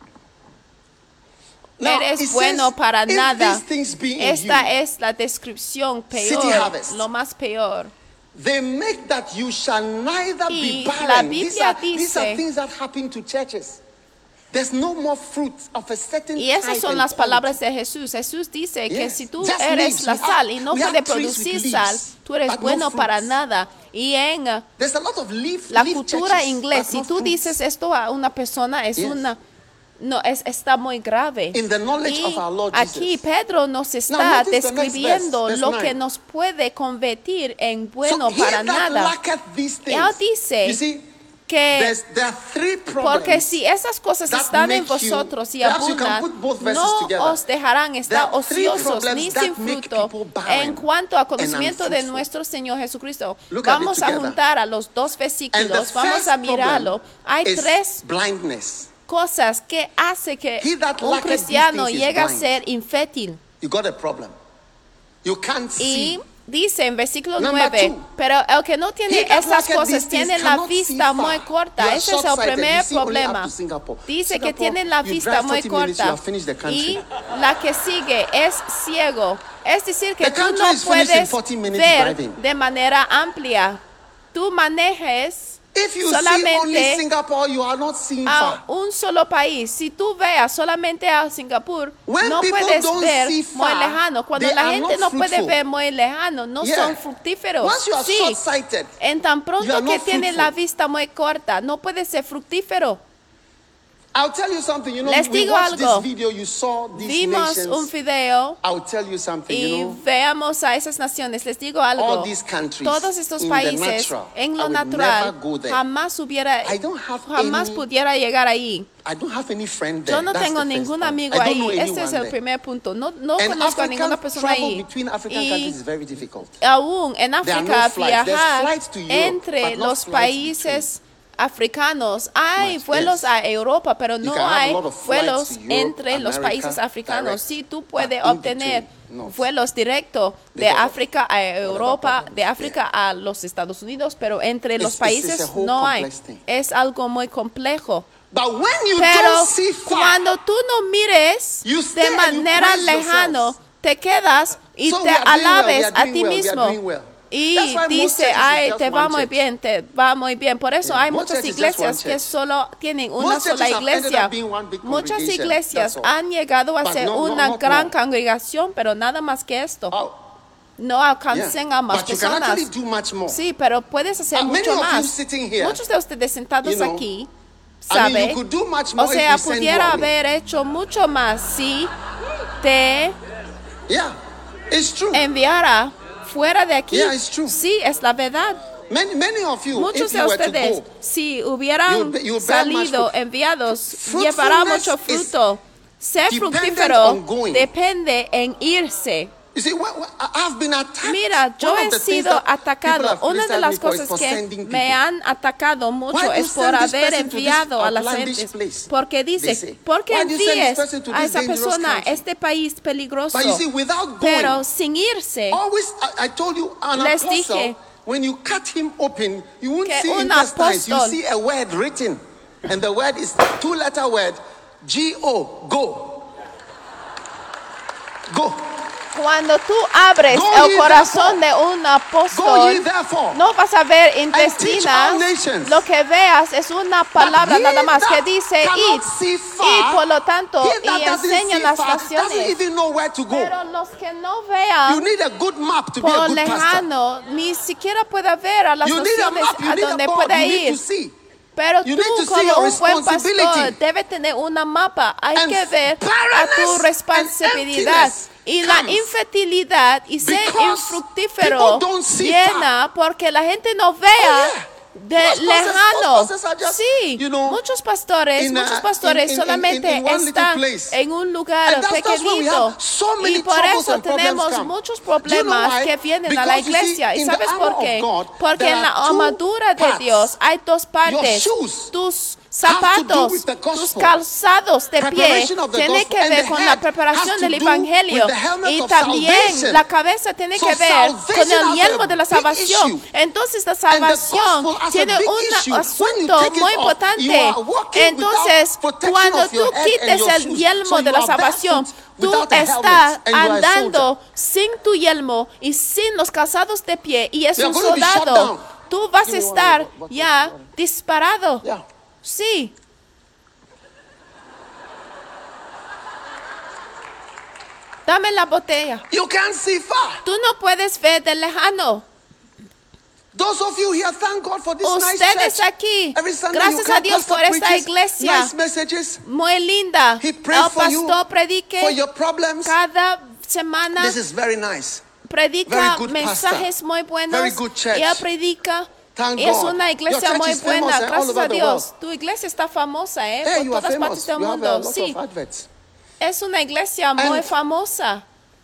bueno para nada, esta es la descripción peor, lo más peor. They make that you shall neither be barren. La Biblia dice, these are things that happen to churches. There's no more fruit of a certain y esas son las palabras de Jesús. Jesús dice que si tú eres la sal y no puedes producir sal, tú eres bueno para nada. Y en la cultura inglesa, si tú dices esto a una persona, está muy grave. Y aquí Pedro nos está describiendo lo que nos puede convertir en bueno para nada. Y él dice que porque si esas cosas están en vosotros y abundan, no os dejarán estar ociosos ni sin fruto en cuanto a conocimiento de nuestro Señor Jesucristo. Vamos a juntar a los dos versículos, vamos a mirarlo. Hay tres cosas que hace que un cristiano llegue a ser infértil. Y dice en versículo 9, pero el que no tiene esas cosas tiene la vista muy corta. Ese es el primer problema. Dice que tiene la vista muy corta y la que sigue es ciego. Es decir, que tú no puedes ver de manera amplia. Tú manejes solamente a un solo país. Si tú veas solamente a Singapur, no puedes ver muy lejano. Cuando la gente no puede ver muy lejano, no son fructíferos. Sí, en tan pronto que tiene la vista muy corta, no puede ser fructífero. Les digo algo. Vimos un video y veamos a esas naciones. Les digo algo. Todos estos países, en lo natural, jamás pudiera llegar ahí. Yo no tengo ningún amigo ahí. Este es el primer punto. No conozco a ninguna persona ahí. Y aún en África, viajar entre los países africanos. Hay vuelos a Europa, pero no hay vuelos entre los países africanos. Sí, tú puedes obtener vuelos directos de África a Europa, de África a los Estados Unidos, pero entre los países no hay. Es algo muy complejo. Pero cuando tú no mires de manera lejana, te quedas y te alabes a ti mismo. Y dice, ay, te va muy bien, te va muy bien. Por eso hay muchas iglesias que solo tienen una sola iglesia. Muchas iglesias han llegado a ser una gran congregación, pero nada más que esto. No alcancen a más personas. Sí, pero puedes hacer mucho más. Muchos de ustedes sentados aquí saben, o sea, pudiera haber hecho mucho más si te enviara fuera de aquí. Sí, es la verdad. Muchos de ustedes, si hubieran salido enviados, llevará mucho fruto. Ser fructífero depende en irse. Mira, yo he sido atacado. Una de las cosas que me han atacado mucho es por haber enviado a las gentes. Porque dice, ¿por qué envíes a esa persona a este país peligroso? Pero sin irse, les dije when you cut him open, you won't que see intestines, you see a word written. And the word is two-letter word, G-O, go. Go. Cuando tú abres el corazón de un apóstol, no vas a ver intestinas. Lo que veas es una palabra nada más que dice id. Y por lo tanto, y enseña las naciones. Pero los que no vean por lejano, ni siquiera puede ver a las naciones a donde puede ir. Pero tú como un buen pastor debes tener una mapa. Hay que ver a tu responsabilidad. Y la infertilidad y ser infructífero llena porque la gente no vea de lejano. Sí, muchos pastores solamente están en un lugar pequeñito. Y por eso tenemos muchos problemas que vienen a la iglesia. ¿Y sabes por qué? Porque en la armadura de Dios hay dos partes. Tus zapatos, tus calzados de pie tienen que ver con la preparación del evangelio y también la cabeza tiene que ver con el yelmo de la salvación. Entonces la salvación tiene un asunto muy importante. Entonces cuando tú quites el yelmo de la salvación, tú estás andando sin tu yelmo y sin los calzados de pie y es un soldado. Tú vas a estar ya disparado. Sí. Dame la botella. You can't see far. Tú no puedes ver de lejano. Those of you here, thank God for this Ustedes nice church. aquí, Every Sunday gracias a Dios por esta iglesia. Nice messages. Muy linda. He prays for you, predique for your problems. cada semana. This is very nice. Predica mensajes muy buenos. Very good church. Ella predica. Es una iglesia muy buena, gracias a Dios. Tu iglesia está famosa, por todas partes del mundo. Sí, es una iglesia muy famosa.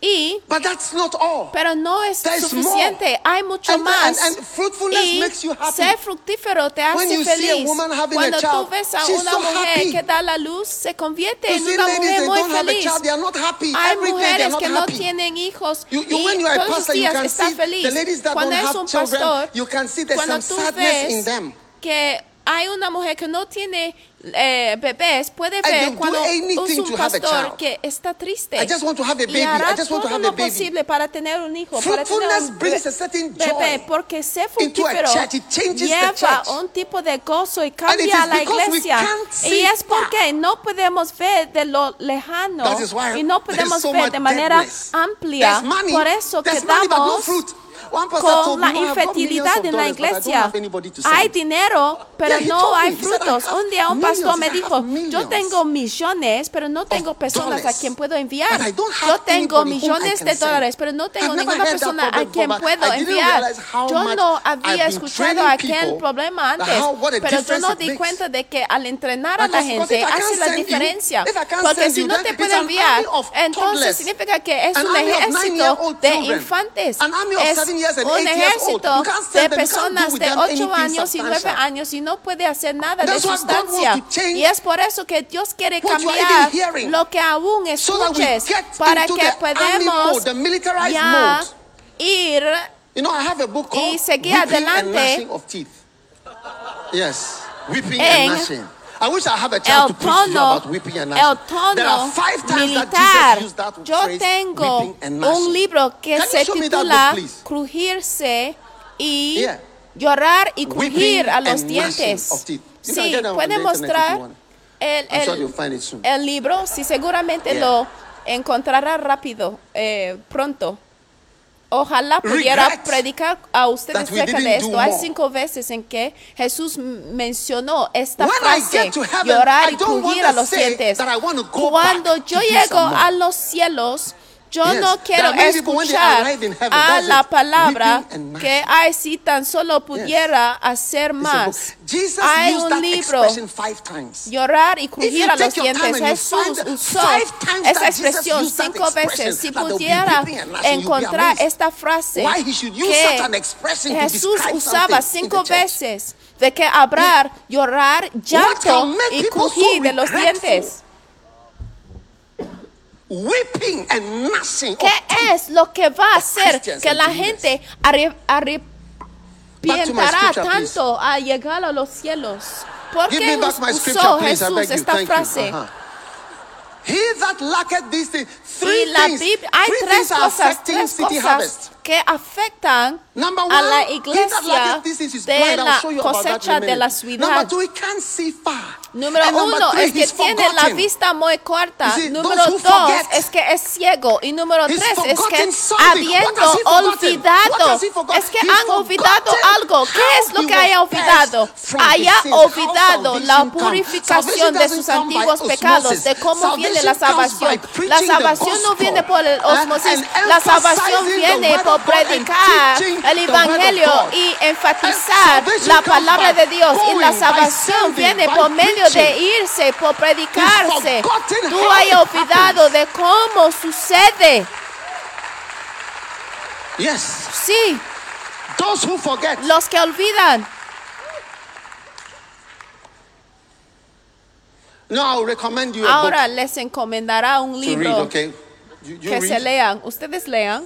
Pero no es suficiente, hay mucho más. Y ser fructífero te hace feliz. Cuando tú ves a una mujer que da la luz, se convierte en una mujer muy feliz. Hay mujeres que no tienen hijos y todos los días están felices. Cuando es un pastor, cuando tú ves que hay una mujer que no tiene bebés, puede ver cuando es un pastor que está triste y hará todo lo posible para tener un hijo, para tener un bebé, porque ser fructífero lleva un tipo de gozo y cambia a la iglesia. Y es porque no podemos ver de lo lejano y no podemos ver de manera amplia. Por eso quedamos con la infertilidad en la iglesia. Hay dinero, pero no hay frutos. Un día un pastor me dijo, yo tengo millones, pero no tengo personas a quien puedo enviar. Yo tengo millones de dólares, pero no tengo ninguna persona a quien puedo enviar. Yo no había escuchado aquel problema antes, pero yo no di cuenta de que al entrenar a la gente hace la diferencia. Porque si no te puedo enviar, entonces significa que es un ejército de infantes. Es un ejército de personas de 8 años y 9 años y no puede hacer nada de sustancia. Y es por eso que Dios quiere cambiar lo que aún escuches para que podamos ya ir y seguir adelante en el tono militar. Yo tengo un libro que se titula Crujirse y llorar y crujir a los dientes. Sí, puede mostrar el libro. Sí, seguramente lo encontrará rápido, pronto. Ojalá pudiera predicar a ustedes acerca de esto. Hay 5 veces en que Jesús mencionó esta frase, llorar y crujir a los dientes. Cuando yo llego a los cielos, yo no quiero escuchar a la palabra que, ay, si tan solo pudiera hacer más. Hay un libro, llorar y crujir a los dientes. Jesús usó esa expresión 5 veces. Si pudiera encontrar esta frase que Jesús usaba 5 veces, de que habrá llorar, llanto y crujir de los dientes. ¿Qué es lo que va a hacer que la gente arrepientará tanto a llegar a los cielos? ¿Por qué usó Jesús esta frase? Y la Biblia, hay tres cosas que afectan a la iglesia de la cosecha de la ciudad. Número 1 es que tiene la vista muy corta. Número 2 es que es ciego. Y número 3 es que habiendo olvidado, es que han olvidado algo. ¿Qué es lo que haya olvidado? Haya olvidado la purificación de sus antiguos pecados, de cómo viene la salvación. La salvación no viene por el osmosis, la salvación viene por predicar el evangelio y enfatizar la palabra de Dios. Y la salvación viene por medio de irse, por predicarse. Tú has olvidado de cómo sucede. Sí. Los que olvidan. Ahora les encomendará un libro que se lean. Ustedes lean.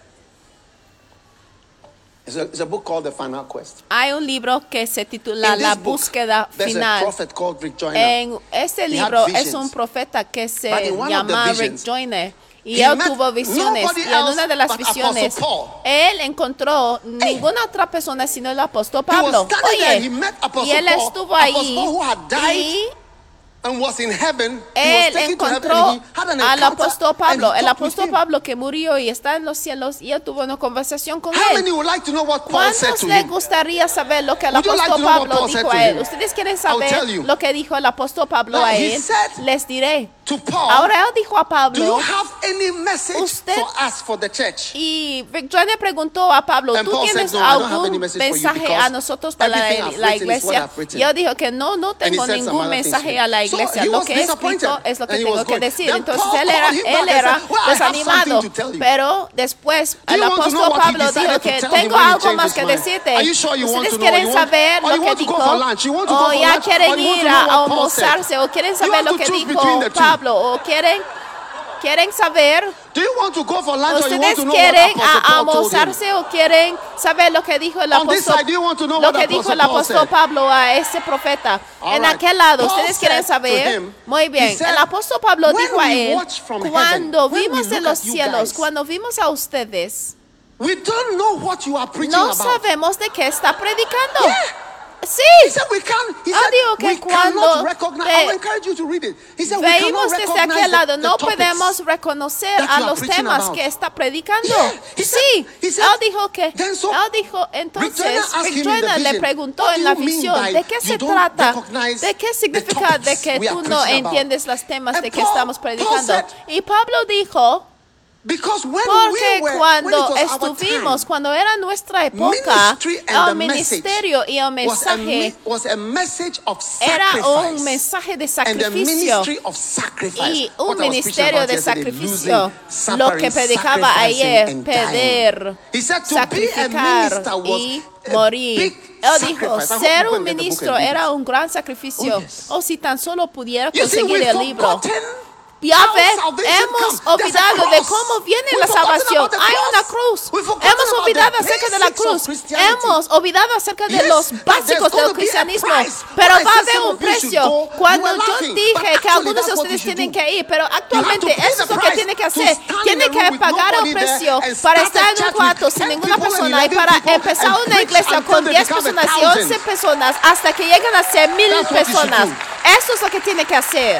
It's a book called The Final Quest. Hay un libro que se titula La Búsqueda Final. En este libro es un profeta que se llama Rick Joyner. Y él tuvo visiones. Y en una de las visiones, él encontró ninguna otra persona sino el apóstol Pablo. Oye, y él estuvo ahí. Él encontró al apóstol Pablo, el apóstol Pablo que murió y está en los cielos, y él tuvo una conversación con él. ¿Cuántos les gustaría saber lo que el apóstol Pablo dijo a él? ¿Ustedes quieren saber lo que dijo el apóstol Pablo a él? Les diré. Ahora él dijo a Pablo, usted, y Rick Joyner preguntó a Pablo, ¿tú tienes algún mensaje a nosotros para la iglesia? Y él dijo que no tengo ningún mensaje a la iglesia. Lo que he escrito es lo que tengo que decir. Entonces él era desanimado. Pero después el apóstol Pablo dijo que tengo algo más que decirte. ¿Ustedes quieren saber lo que dijo? ¿O ya quieren ir a almorzarse? ¿O quieren saber lo que dijo Pablo? ¿O quieren saber? ¿Ustedes quieren almorzarse o quieren saber lo que dijo el apóstol Pablo a ese profeta? En aquel lado, ¿ustedes quieren saber? Muy bien. El apóstol Pablo dijo a él, cuando vimos en los cielos, cuando vimos a ustedes, no sabemos de qué está predicando. Sí, digo que cuando veímos desde aquel lado no podemos reconocer a los temas que está predicando. Sí, él dijo entonces, Rick Joyner le preguntó en la visión, ¿de qué se trata? ¿De qué significa de que tú no entiendes los temas de que estamos predicando? Y Pablo dijo, Porque cuando era nuestra época, el ministerio y el mensaje era un mensaje de sacrificio y un ministerio de sacrificio. Lo que predicaba ayer, pedir, sacrificar y morir. Él dijo, ser un ministro era un gran sacrificio. O si tan solo pudiera conseguir el libro. Ya ve, hemos olvidado de cómo viene la salvación. Hay una cruz. Hemos olvidado acerca de la cruz. Hemos olvidado acerca de los básicos del cristianismo. Pero va a haber un precio. Cuando yo dije que algunos de ustedes tienen que ir, pero actualmente eso es lo que tienen que hacer. Tienen que pagar el precio para estar en un cuarto sin ninguna persona y para empezar una iglesia con 10 personas y 11 personas hasta que lleguen a ser 1,000 personas. Eso es lo que tienen que hacer.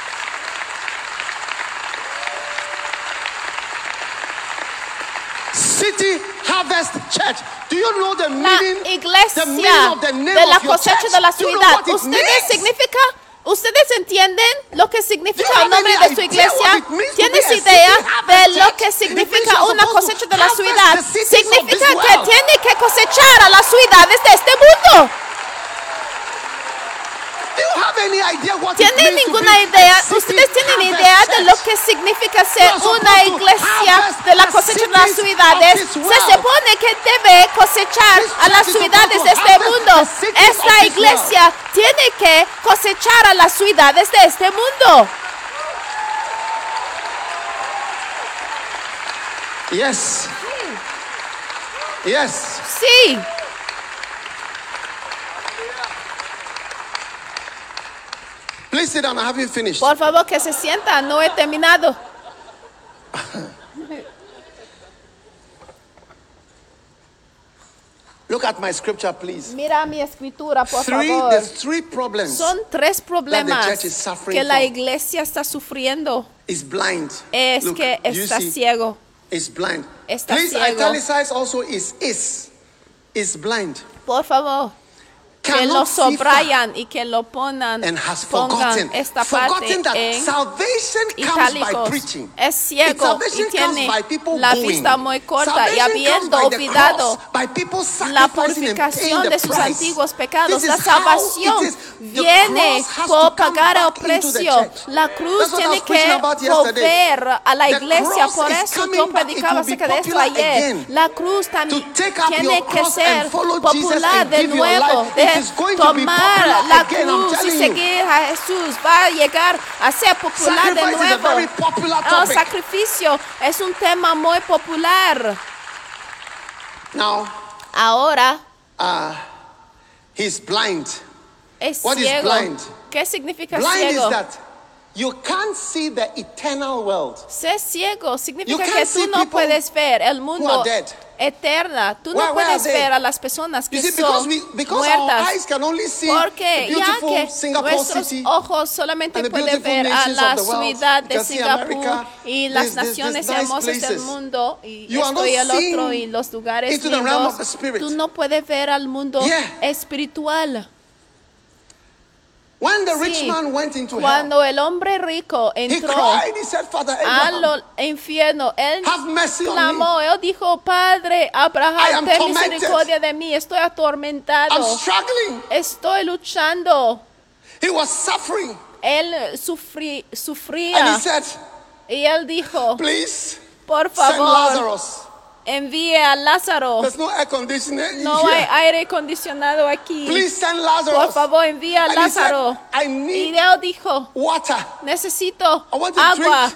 City Harvest Church. Do you know the meaning? La iglesia de la cosecha de la ciudad. ¿Ustedes entienden lo que significa el nombre de su iglesia? ¿Tienes idea de lo que significa una cosecha de la ciudad? Significa que tiene que cosechar a las ciudades de este mundo. ¿Tienen ninguna idea? ¿Ustedes tienen idea de lo que significa ser una iglesia de la cosecha de las ciudades? Se supone que debe cosechar a las ciudades de este mundo. Esta iglesia tiene que cosechar a las ciudades de este mundo. Yes. Yes. Sí. Please sit down. I haven't finished. Por favor, que se sienta. No he terminado. Look at my scripture, please. Mira mi escritura, por favor. There's 3 problems. Son 3 problemas that the church is suffering que la from. iglesia está sufriendo. Is blind. Es Look, que está ciego. Is blind. Está please ciego. italicize also is blind. Por favor. Que lo subrayan y que lo pongan esta parte en itálicos. Es ciego y tiene la vista muy corta y habiendo olvidado la purificación de sus antiguos pecados. La salvación viene por pagar el precio. La cruz tiene que volver a la iglesia. Por eso yo predicaba acerca de esto ayer. La cruz también tiene que ser popular de nuevo. Tomar la cruz y seguir a Jesús va a llegar a ser popular de nuevo. El sacrificio es un tema muy popular. Ahora he's blind. Es What ciego. Is blind? ¿Qué significa blind ciego? Is that you can't see the eternal world. Ser ciego significa que tú no puedes ver el mundo eterna. Tú no puedes ver a las personas que son muertas. Porque ya que nuestros ojos solamente pueden ver a la ciudad de Singapur y las naciones hermosas del mundo y esto y el otro y los lugares lindos, tú no puedes ver al mundo espiritual. When the rich man went into cuando el hombre rico entró al infierno, él clamó, él dijo, Padre Abraham, ten misericordia de mí, estoy atormentado, estoy luchando. He was suffering. Él sufría. Y él dijo, please, por favor, envíe a Lázaro. No hay aire acondicionado aquí. Por favor, envíe a Lázaro. Y él dijo, necesito agua.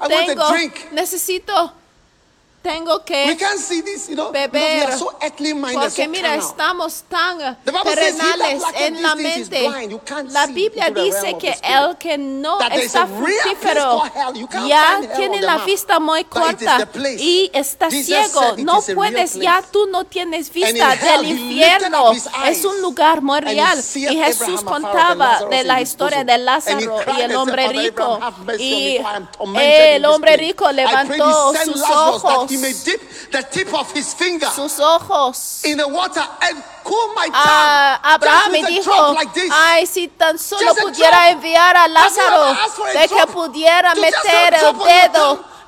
Tengo que beber. Porque mira, estamos tan terrenales en la mente. La Biblia dice que el que no está fructífero ya tiene la vista muy corta y está ciego. No puedes, ya tú no tienes vista del infierno. Es un lugar muy real. Y Jesús contaba de la historia de Lázaro y el hombre rico. Y el hombre rico levantó sus ojos. Sus ojos Abraham me dijo, ay, si tan solo pudiera enviar a Lázaro, de que pudiera meter el dedo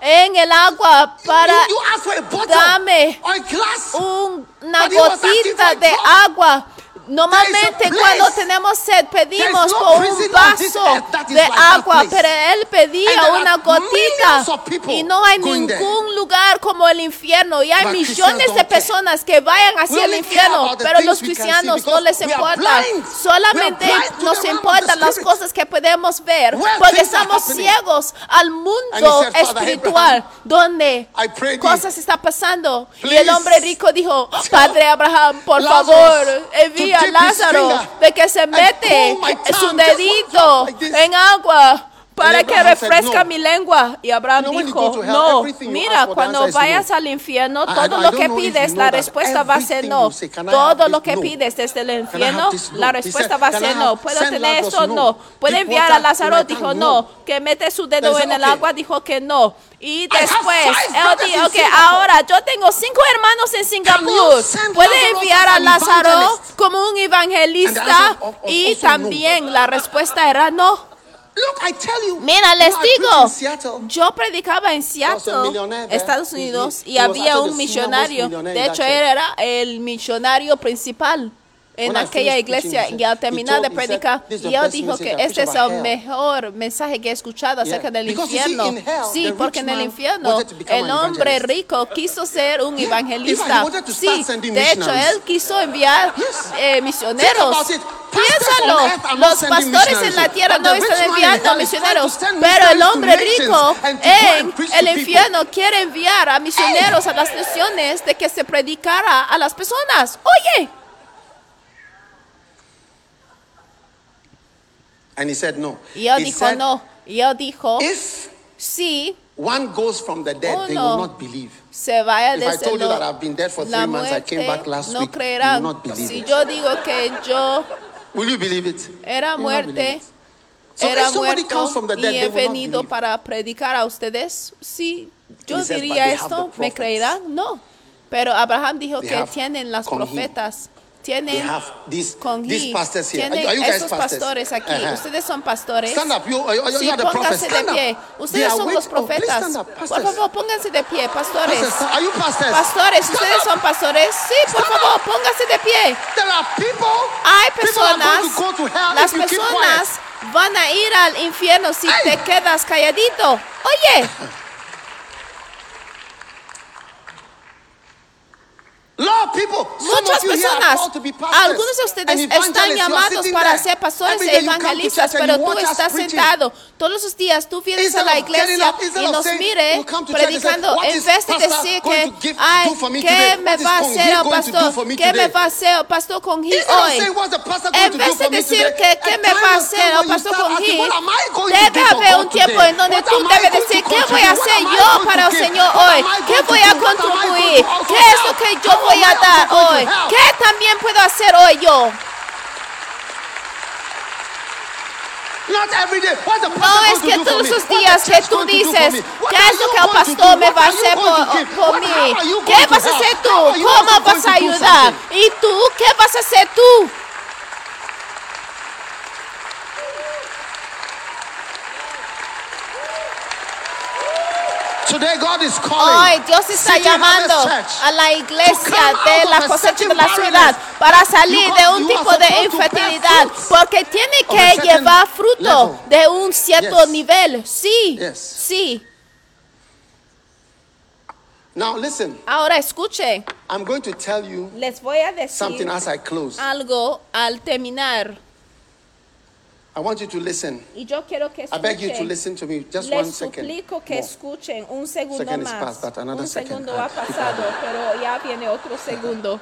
en el agua para dame una gotita de agua. Normalmente cuando tenemos sed pedimos por un vaso de agua, pero él pedía una gotita y no hay ningún lugar como el infierno y hay millones de personas que vayan hacia el infierno, pero los cristianos no les importa, solamente nos importan las cosas que podemos ver porque estamos ciegos al mundo espiritual donde cosas están pasando. Y el hombre rico dijo, Padre Abraham, por favor, envía a Lázaro de que se mete su dedito en agua para que refresca mi lengua. Y Abraham dijo, no, mira, cuando vayas al infierno, todo lo que pides, la respuesta va a ser no. Todo lo que pides desde el infierno, la respuesta va a ser no. ¿Puedo tener esto? No. ¿Puede enviar a Lázaro? Dijo no. ¿Que mete su dedo en el agua? Dijo que no. Y después, él dijo que ahora yo tengo 5 hermanos en Singapur. ¿Puede enviar a Lázaro como un evangelista? Y también la respuesta era no. Mira, les digo, yo predicaba en Seattle, Estados Unidos, y había un millonario. De hecho, él era el millonario principal en aquella iglesia. Y al terminar de predicar, y él dijo que este es el mejor mensaje que he escuchado acerca del infierno. Sí, porque en el infierno el hombre rico quiso ser un evangelista. Sí, de hecho, él quiso enviar misioneros. Piénsalo, los pastores en la tierra no están enviando misioneros, pero el hombre rico en el infierno quiere enviar a misioneros a las naciones de que se predicara a las personas. Oye. And he said no. Y él dijo no. Y él dijo, si one goes from the dead, they will not believe. Se vaya If I told you that I've been dead for 3 months, I came back last week, you will not believe si it. yo digo que yo Will you believe it? Era muerte, era muerto y he venido para predicar a ustedes. Si yo diría esto, ¿me creerán? No. Pero Abraham dijo que tienen las profetas. Tienen con tienen esos pastores aquí. Ustedes son pastores. Sí, pónganse de pie. Ustedes son los profetas. Por favor, pónganse de pie, pastores. Pastores, ustedes son pastores. Sí, por favor, pónganse de pie. Hay personas, las personas van a ir al infierno si te quedas calladito. Oye. Muchas personas, algunos de ustedes están llamados para ser pastores e evangelistas, pero tú estás sentado todos los días, tú vienes a la iglesia y nos mire predicando, en vez de decir que, ay, ¿qué me va a hacer el pastor? ¿Qué me va a hacer el pastor con G hoy? En vez de decir que, ¿qué me va a hacer el pastor con G? Debe haber un tiempo en donde tú debes decir, ¿qué voy a hacer yo para el Señor hoy? ¿Qué voy a contribuir? ¿Qué es lo que yo voy a dar hoy? ¿Qué también puedo hacer hoy yo? No es que todos los días que tú dices, ¿qué es lo que el pastor me va a hacer por mí? ¿Qué vas a hacer tú? ¿Cómo vas a ayudar? ¿Y tú? ¿Qué vas a hacer tú? Hoy Dios está llamando a la iglesia de la cosecha de la ciudad para salir de un tipo de infertilidad, porque tiene que llevar fruto de un cierto nivel. Sí, sí. Ahora escuche. Les voy a decir algo al terminar. I want you to listen. Y yo quiero que escuchen. I beg you to listen to me. Just 1 second. Les suplico que escuchen un segundo second más. Is past, but another un second. segundo ha pasado, pero ya viene otro segundo.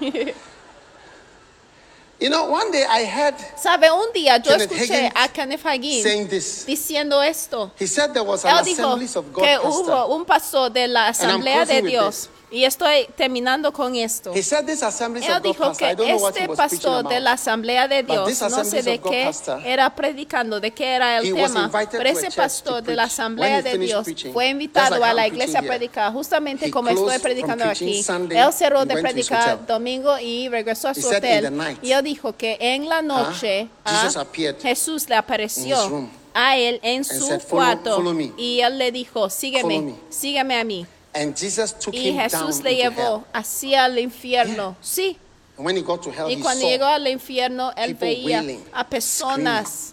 You know, one day I heard ¿Sabe? Un día yo escuché a Kenneth Hagin diciendo esto. He said there was an Assemblies of God que hubo un pastor de la Asamblea de Dios. Y estoy terminando con esto. Él dijo que este pastor de la Asamblea de Dios, no sé de qué era predicando, de qué era el tema, pero ese pastor de la Asamblea de Dios fue invitado a la iglesia a predicar, justamente como estoy predicando aquí. Él cerró de predicar domingo y regresó a su hotel. Y él dijo que en la noche Jesús le apareció a él en su cuarto y él le dijo, sígueme a mí. Y Jesús le llevó hacia el infierno. Sí. Y cuando llegó al infierno, él veía a personas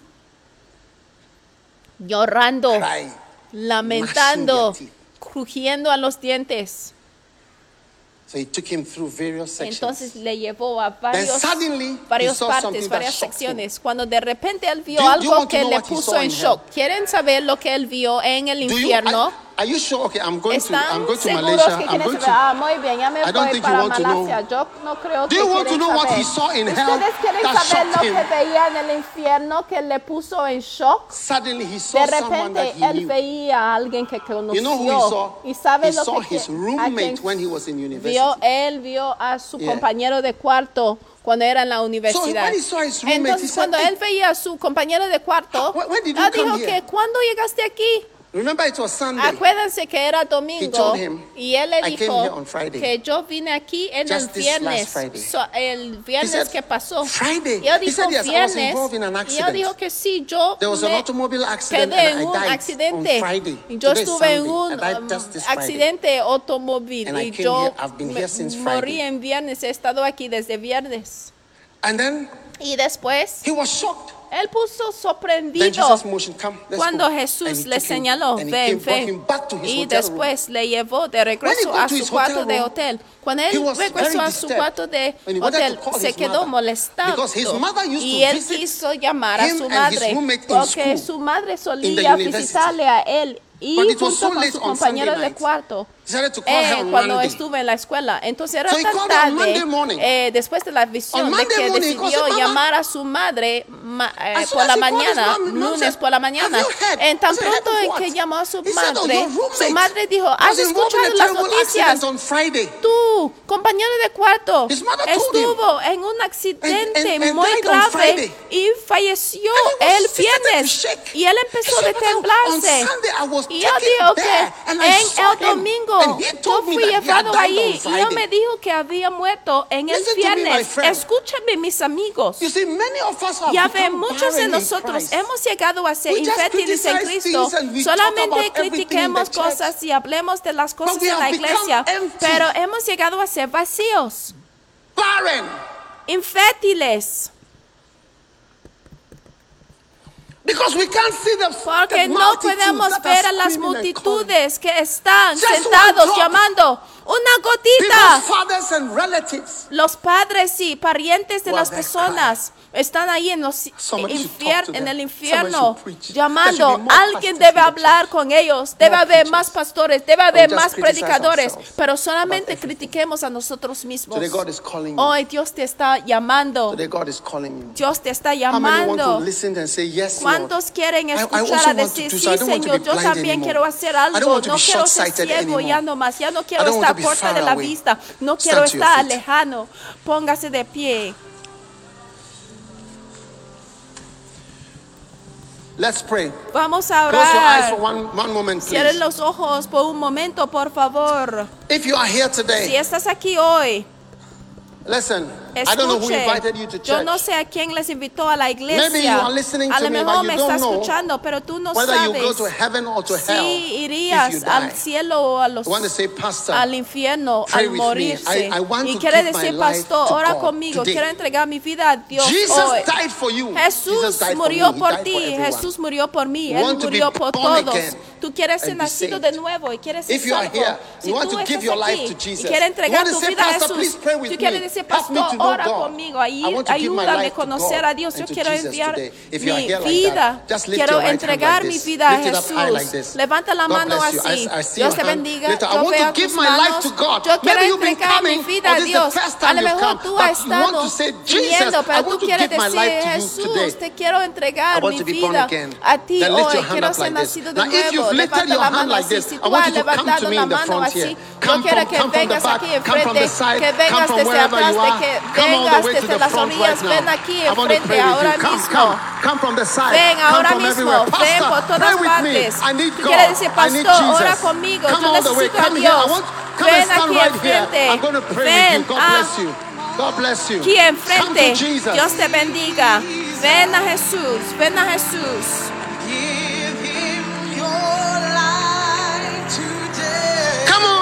llorando, lamentando, crujiendo a los dientes. Entonces le llevó a varias partes, varias secciones. Cuando de repente él vio algo que le puso en shock. ¿Quieren saber lo que él vio en el infierno? Are you sure? Okay, I'm going to Malaysia. Muy bien, ya me voy para Malasia. Yo no creo que quieren saber. ¿Ustedes quieren saber lo que veía en el infierno que le puso en shock? De repente él veía a alguien que conoció. ¿Y sabe lo que vio? Él vio a su compañero de cuarto cuando era en la universidad. Entonces, cuando él veía a su compañero de cuarto, él dijo que ¿cuándo llegaste aquí? Remember, it was Sunday. Acuérdense que era domingo y él le dijo que yo vine aquí en el viernes, el viernes que pasó. Y él dijo viernes, y él dijo que sí, yo quedé en un accidente. Yo estuve en un accidente automóvil y yo morí en viernes, he estado aquí desde viernes. Y después, él puso sorprendido cuando Jesús le señaló, ven. Y después le llevó de regreso a su cuarto de hotel. Cuando él regresó a su cuarto de hotel, se quedó molestado. Y él quiso llamar a su madre, porque su madre solía visitarle a él y junto con su compañero de cuarto cuando estuve en la escuela. Entonces era tan tarde, después de la visión, de que decidió llamar a su madre por la mañana, lunes por la mañana. En tan pronto en que llamó a su madre dijo, ¿has escuchado las noticias? Tu compañero de cuarto estuvo en un accidente muy grave y falleció el viernes. Y él empezó a temblarse. Y él dijo que en el domingo yo fui llevado allí y él me dijo que había muerto en el viernes. Escúchame, mis amigos. Ya ven, muchos de nosotros hemos llegado a ser infértiles en Cristo. Solamente critiquemos cosas y hablemos de las cosas de la iglesia, pero hemos llegado a ser vacíos, infértiles. Porque no podemos ver a las multitudes que están sentados llamando una gotita. Los padres y parientes de las personas están ahí en el infierno llamando. Alguien debe hablar con ellos. Debe haber más pastores, debe haber más predicadores. Pero solamente critiquemos a nosotros mismos. Hoy Dios te está llamando. Dios te está llamando. ¿Cuántos quieren escuchar a decir, sí, Señor, yo también quiero hacer algo? No quiero ser ciego ya no más. Ya no quiero estar corta de la vista. No quiero estar lejano. Póngase de pie. Let's pray. Vamos a orar. Cierren los ojos por un momento, por favor. If you are here today, si estás aquí hoy, listen, I don't know who invited you to church. Yo no sé a quién les invitó a la iglesia. A lo mejor me estás escuchando, pero tú no sabes si irías al cielo o al infierno al morirse. Y quiere decir, pastor, ora conmigo. Quiero entregar mi vida a Dios hoy. Jesús murió por ti. Jesús murió por mí. Él murió por todos. Tú quieres ser nacido de nuevo y quieres ser salvo. Si tú estás aquí y quieres entregar tu vida a Jesús, tú quieres decir, pastor, ora conmigo, ayúdame a conocer a Dios. Yo quiero enviar mi vida, quiero entregar mi vida a Jesús. Levanta la mano así. Dios te bendiga. Yo veo tus manos. Yo quiero entregar mi vida a Dios. A lo mejor tú has estado viniendo, pero tú quieres decir, Jesús, te quiero entregar mi vida a ti hoy. Quiero ser nacido de nuevo. Levanta la mano así. Si tú has levantado la mano así, yo quiero que vengas aquí enfrente, que vengas desde atrás, que vengas desde las orillas, ven aquí enfrente ahora mismo. Ven ahora mismo, ven por todas partes. Tú quieres decir, pastor, ora conmigo, yo necesito a Dios. Ven aquí enfrente, ven aquí enfrente. Dios te bendiga. Ven a Jesús, ven a Jesús.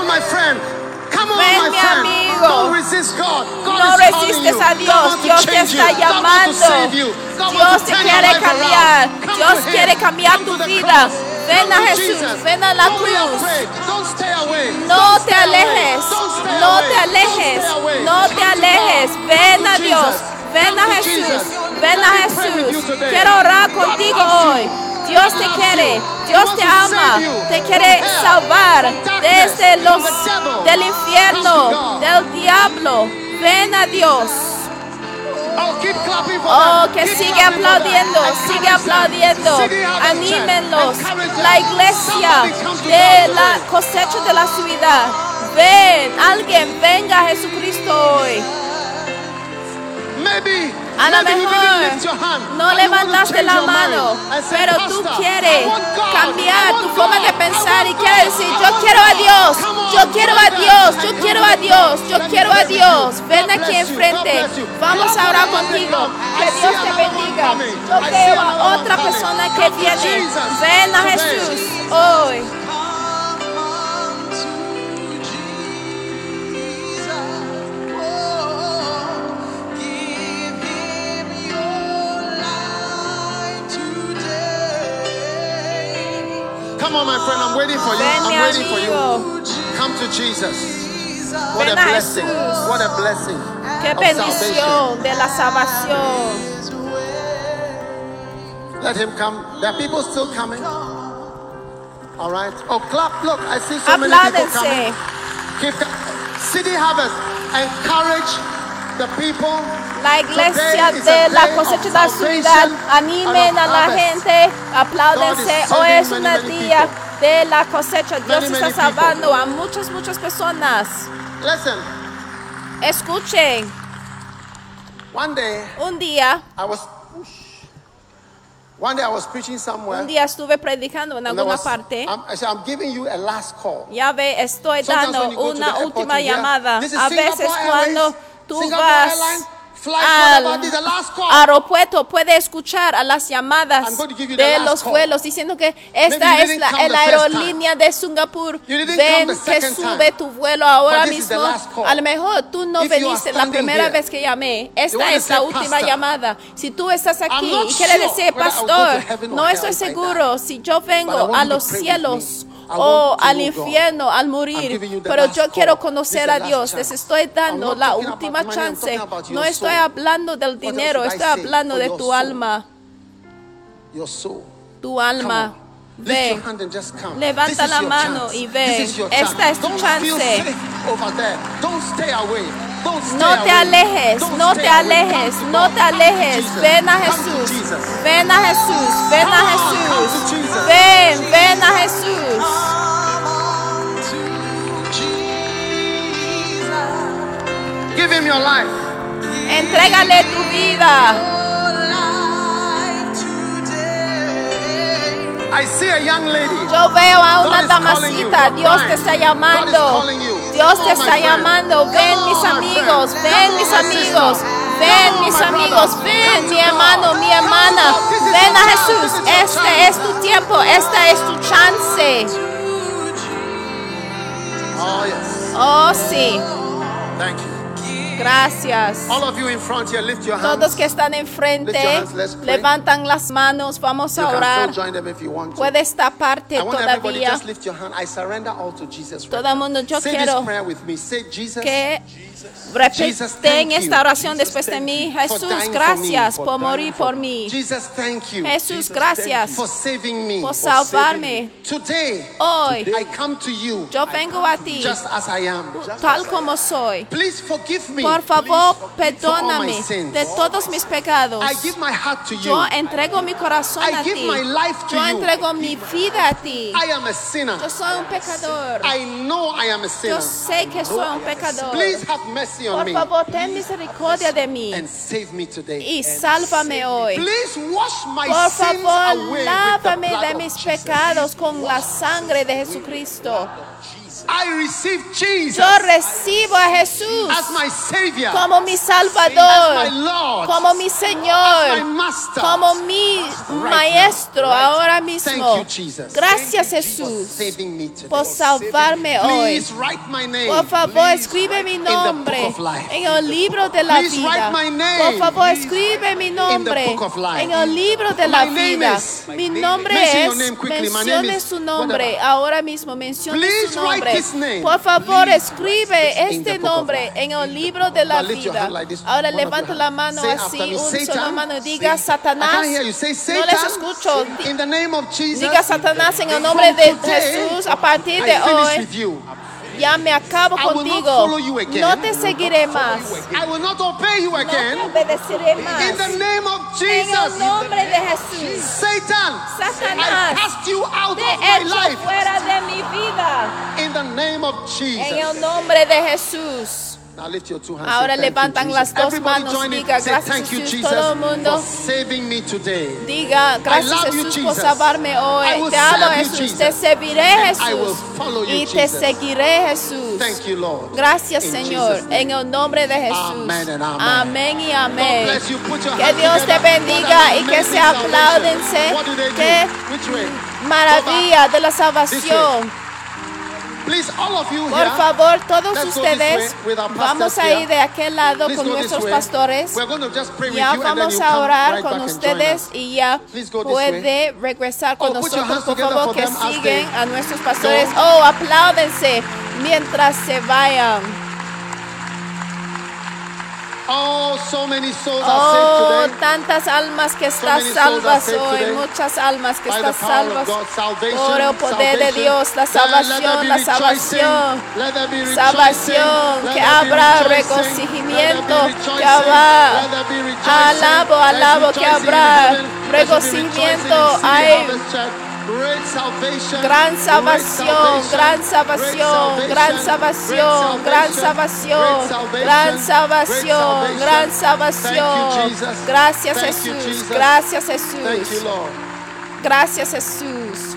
my friend. Ven, mi amigo. No resistes a Dios. Dios te está llamando. Dios te quiere cambiar. Dios quiere cambiar tu vida. Ven a Jesús. Ven a la cruz. No te alejes. No te alejes. No te alejes. Ven a Dios. Ven a Jesús. Ven a Jesús. Quiero orar contigo hoy. Dios te quiere, Dios te ama, te quiere salvar desde del infierno, del diablo. Ven a Dios. Oh, que sigue aplaudiendo, sigue aplaudiendo. Anímenlos. La iglesia de la cosecha de la ciudad. Ven, alguien venga a Jesucristo hoy. A lo mejor no levantaste la mano, pero tú quieres cambiar tu forma de pensar y quieres decir, yo quiero a Dios, yo quiero a Dios, yo quiero a Dios, yo quiero a Dios. Ven aquí enfrente, vamos a orar contigo. Que Dios te bendiga. Yo veo a otra persona que viene. Ven a Jesús hoy. Come on, my friend, I'm waiting for you. I'm waiting for you. Come to Jesus. What a blessing. What a blessing. Qué bendición de la salvación. Let him come. There are people still coming. All right. Oh, clap. Look, I see so many people coming. City Harvest, encourage the people. La iglesia de la cosecha de la ciudad, animen a la gente, apláudense. Hoy es un día de la cosecha. Dios está salvando a muchas personas. Escuchen. Un día estuve predicando en alguna parte. Ya ve, estoy dando una última llamada. A veces cuando tú vas al aeropuerto puede escuchar a las llamadas de los vuelos diciendo que esta es la aerolínea de Singapur. Ven que sube tu vuelo ahora mismo. A lo mejor tú no viniste la primera vez que llamé. Esta es la última llamada. Si tú estás aquí y quieres decir, pastor, no estoy seguro si yo vengo a los cielos o al infierno al morir, pero yo quiero conocer a Dios. Les estoy dando la última chance. No estoy hablando del dinero, estoy hablando de tu alma. Tu alma. Ve, levanta la mano y ve. Esta es tu chance. No te alejes, no te alejes, no te alejes. Ven a Jesús, ven a Jesús, ven a Jesús. Ven a Jesús. Give him your life. Entrégale tu vida. I see a young lady. Yo veo a una damasita. Dios te está llamando. Dios te está llamando. Ven, mis amigos. Ven, mis amigos. Ven, mis amigos. Ven, mi hermano, mi hermana. Ven a Jesús. Este es tu tiempo. Esta es tu chance. Oh, yes. Oh, sí. Thank you. Gracias. All of you in front here, lift your hands. Todos que están enfrente, levantan las manos. Vamos a orar. Puede estar parte todavía. Todo el mundo, yo quiero que repiten esta oración después de mí. Jesús, gracias por morir por mí. Jesús, gracias por salvarme. Hoy, yo vengo a ti tal como soy. Por favor, perdóname de todos mis pecados. Yo entrego mi corazón a ti. Yo entrego mi vida a ti. Yo soy un pecador. Yo sé que soy un pecador. Por favor, ten misericordia de mí y sálvame hoy. Por favor, lávame de mis pecados con la sangre de Jesucristo. Yo recibo a Jesús como mi Salvador, como mi Señor, como mi Maestro ahora mismo. Gracias, Jesús, por salvarme hoy. Por favor, escribe mi nombre en el libro de la vida. Por favor, escribe mi nombre en el libro de la vida. Mi nombre es, mencione su nombre ahora mismo, mencione su nombre. Por favor, escribe este nombre en el libro de la vida. Ahora levanta la mano así, un solo mano y diga: Satanás, no les escucho. Diga: Satanás, en el nombre de Jesús, a partir de hoy ya me acabo contigo. No te seguiré más. No te obedeceré más. En el nombre de Jesús. Satanás, te echo fuera de mi vida. En el nombre de Jesús. Ahora levantan las dos manos y diga: gracias, Jesús. Todo el mundo diga: gracias, Jesús, por salvarme hoy. Te amo, Jesús. Te serviré, Jesús, y te seguiré, Jesús. Gracias, Señor, en el nombre de Jesús. Amén y amén. Que Dios te bendiga y que se apláudense. Qué maravilla de la salvación. Por favor, todos ustedes, vamos a ir de aquel lado con nuestros pastores. Ya vamos a orar con ustedes y ya puede regresar con nosotros. Por favor, que siguen a nuestros pastores. Oh, apláudense mientras se vayan. Oh, so many souls are saved today. Tantas almas que están salvas hoy, muchas almas que están salvas por el poder de Dios, la salvación, salvación, que habrá regocijamiento, que habrá alabo, que habrá regocijamiento, hay gran salvación, gran salvación, gran salvación, gran salvación, gran salvación, gran salvación. Gracias, Jesús, gracias, Jesús, gracias, Jesús.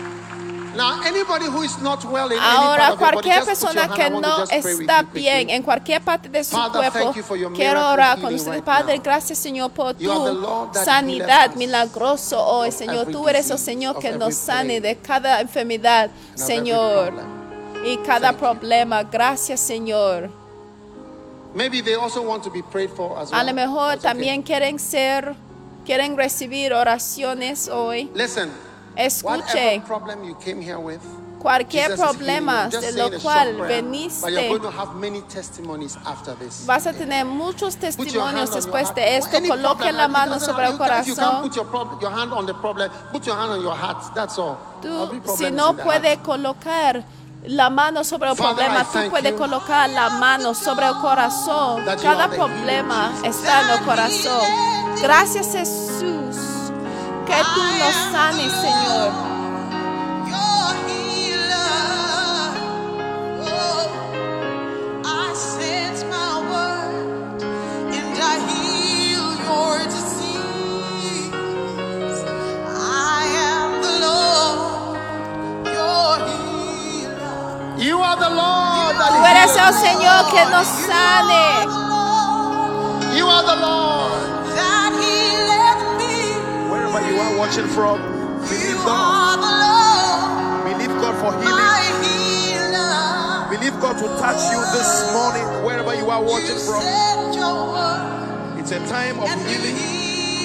Ahora, cualquier persona que no está bien en cualquier parte de su cuerpo, quiero orar con ustedes. Padre, gracias, Señor, por tu sanidad milagroso hoy, Señor. Tú eres el Señor que nos sane de cada enfermedad, Señor, y cada problema. Gracias, Señor. A lo mejor también quieren recibir oraciones hoy. Escuche, cualquier problema de lo cual veniste, vas a tener muchos testimonios después de esto. Coloque la mano sobre el corazón. Tú, si no puedes colocar la mano sobre el problema, tú puedes colocar la mano sobre el corazón. Cada problema está en el corazón. Gracias, Jesús, que tú nos sanes, Señor. Tú eres el Señor que nos sane. You are the Lord. Wherever you are watching from, believe God. Believe God for healing. Believe God to touch you this morning, wherever you are watching from. It's a time of healing.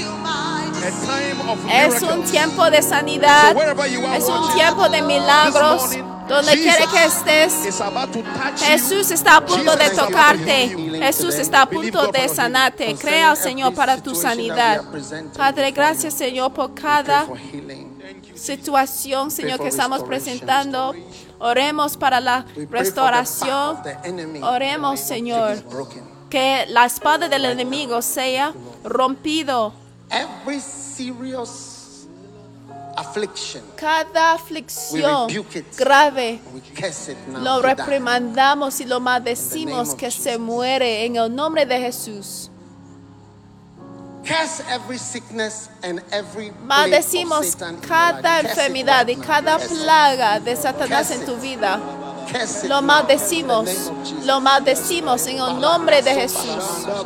Es un tiempo de sanidad. Es un tiempo de milagros. Donde quiera que estés, Jesús está a punto de tocarte. Jesús está a punto de sanarte. Crea al Señor para tu sanidad. Padre, gracias, Señor, por cada situación, Señor, que estamos presentando. Oremos para la restauración. Oremos, Señor, que la espada del enemigo sea rompido. Cada aflicción grave lo reprimandamos y lo maldecimos que se muere en el nombre de Jesús. Maldecimos cada enfermedad y cada plaga de Satanás en tu vida. Lo maldecimos. Lo maldecimos en el nombre de Jesús.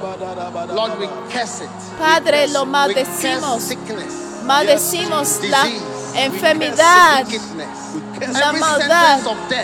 Padre, lo maldecimos. Maldecimos la enfermedad, la maldad,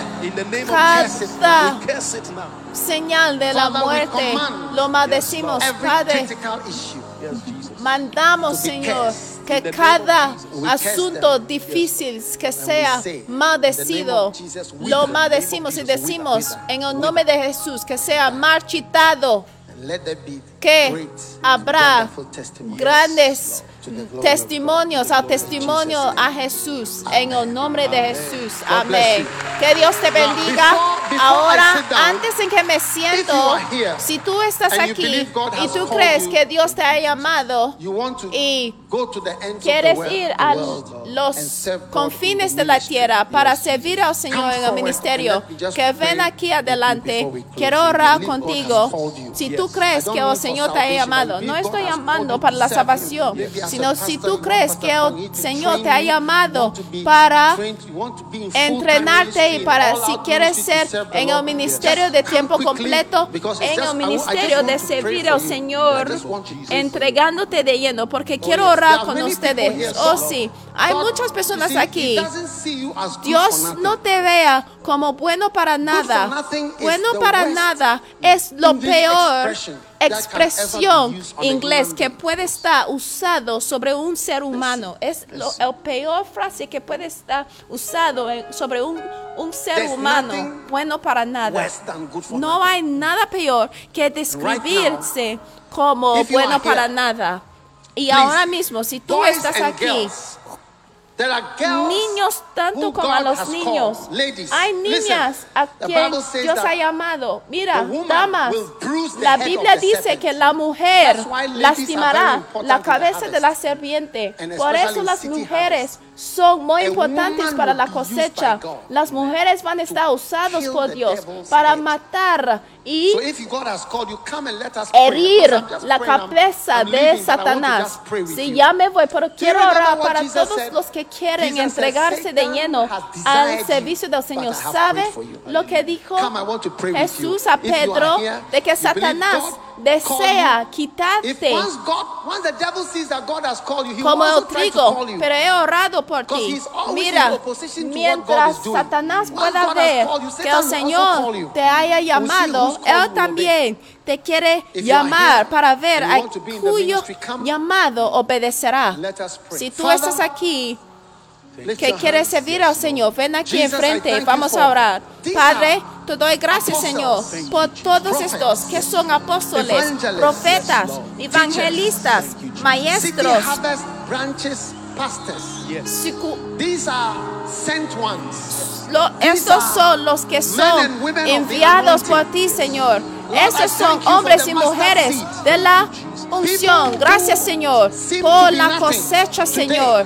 cada señal de la muerte. Lo maldecimos, Padre. Mandamos, Señor, que cada asunto difícil que sea maldecido, lo maldecimos y decimos en el nombre de Jesús que sea marchitado, que habrá grandes testimonios al testimonio a Jesús en el nombre de Jesús. Amén. Que Dios te bendiga. Ahora, antes en que me siento, si tú estás aquí y tú crees que Dios te ha llamado y quieres ir a los confines de la tierra para servir al Señor en el ministerio, que ven aquí adelante. Quiero orar contigo. Si tú crees que el Señor te ha llamado, no estoy llamando para la salvación, sino si tú crees que el Señor te ha llamado para entrenarte y para, si quieres ser en el ministerio de tiempo completo, en el ministerio de servir al Señor, entregándote de lleno, porque quiero orar con ustedes. Oh sí, hay muchas personas aquí. Dios no te vea como bueno para nada. Bueno para nada es lo peor expresión inglés que puede estar usado sobre un ser humano. Es la peor frase que puede estar usado sobre un ser humano. Bueno para nada. No hay nada peor que describirse como bueno para nada. Y ahora mismo, si tú estás aquí, niños tanto como a los niños, hay niñas a quien Dios ha llamado. Mira, damas, la Biblia dice que la mujer lastimará la cabeza de la serpiente. Por eso las mujeres son muy importantes para la cosecha. Las mujeres van a estar usadas por Dios para matar y herir la cabeza de Satanás. Si ya me voy, pero quiero orar para todos los que quieren entregarse de lleno al servicio del Señor. ¿Sabe lo que dijo Jesús a Pedro? De que Satanás desea quitarte como el trigo, pero he orado por ti. Mira, mientras Satanás pueda ver que el Señor te haya llamado, Él también te quiere llamar para ver a cuyo llamado obedecerá. Si tú estás aquí, que quieres servir al Señor, ven aquí enfrente, vamos a orar. Padre, te doy gracias, Señor, por todos estos que son apóstoles, profetas, evangelistas, maestros. Estos son los que son enviados por ti, Señor. Estos son hombres y mujeres de la unción. Gracias, Señor, por la cosecha, Señor.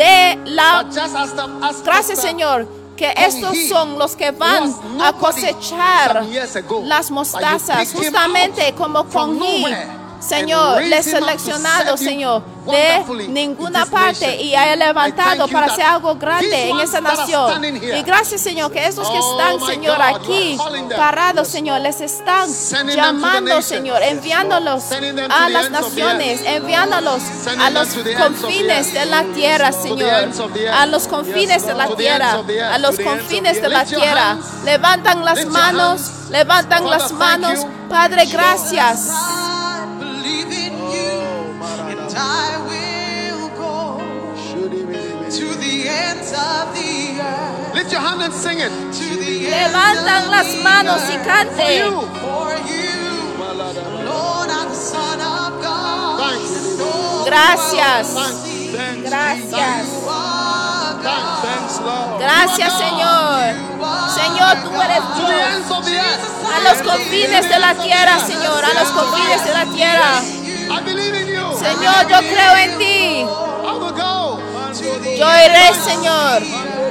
Gracias, Señor, que estos son los que van a cosechar las mostazas, justamente como con mí. Señor, le he seleccionado, Señor, de ninguna parte y haya levantado para hacer algo grande en esa nación. Y gracias, Señor, que esos que están, Señor, aquí parados, Señor, les están llamando, Señor, enviándolos a las naciones, enviándolos a los confines de la tierra, Señor, a los confines de la tierra, a los confines de la tierra. Levantan las manos, Padre, gracias. I will go to the ends of the earth. Lift your hand and sing it. Levantan las manos y cante. For you, Lord, I'm the Son of God. Gracias. Gracias. Gracias, Señor. Señor, tú eres Dios. A los confines de la tierra, Señor, a los confines de la tierra. Señor, yo creo en ti. Yo iré, Señor,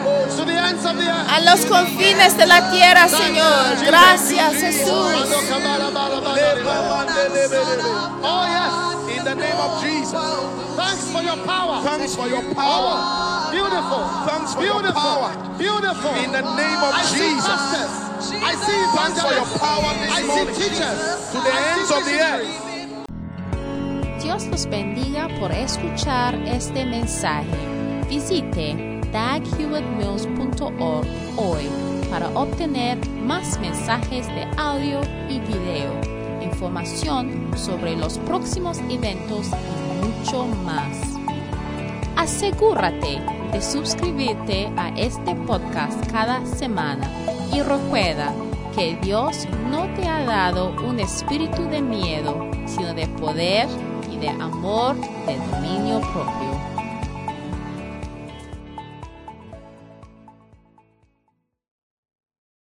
a los confines de la tierra, Señor. Gracias, Jesús. Oh, yes, in the name of Jesus. Thanks for your power. Thanks for your power. Beautiful. Thanks for your power. Beautiful. In the name of Jesus. I see evangelists. I see teachers. To the ends of the earth. Dios los bendiga por escuchar este mensaje. Visite daghewittmills.org hoy para obtener más mensajes de audio y video, información sobre los próximos eventos y mucho más. Asegúrate de suscribirte a este podcast cada semana y recuerda que Dios no te ha dado un espíritu de miedo, sino de poder y de amor, de dominio propio.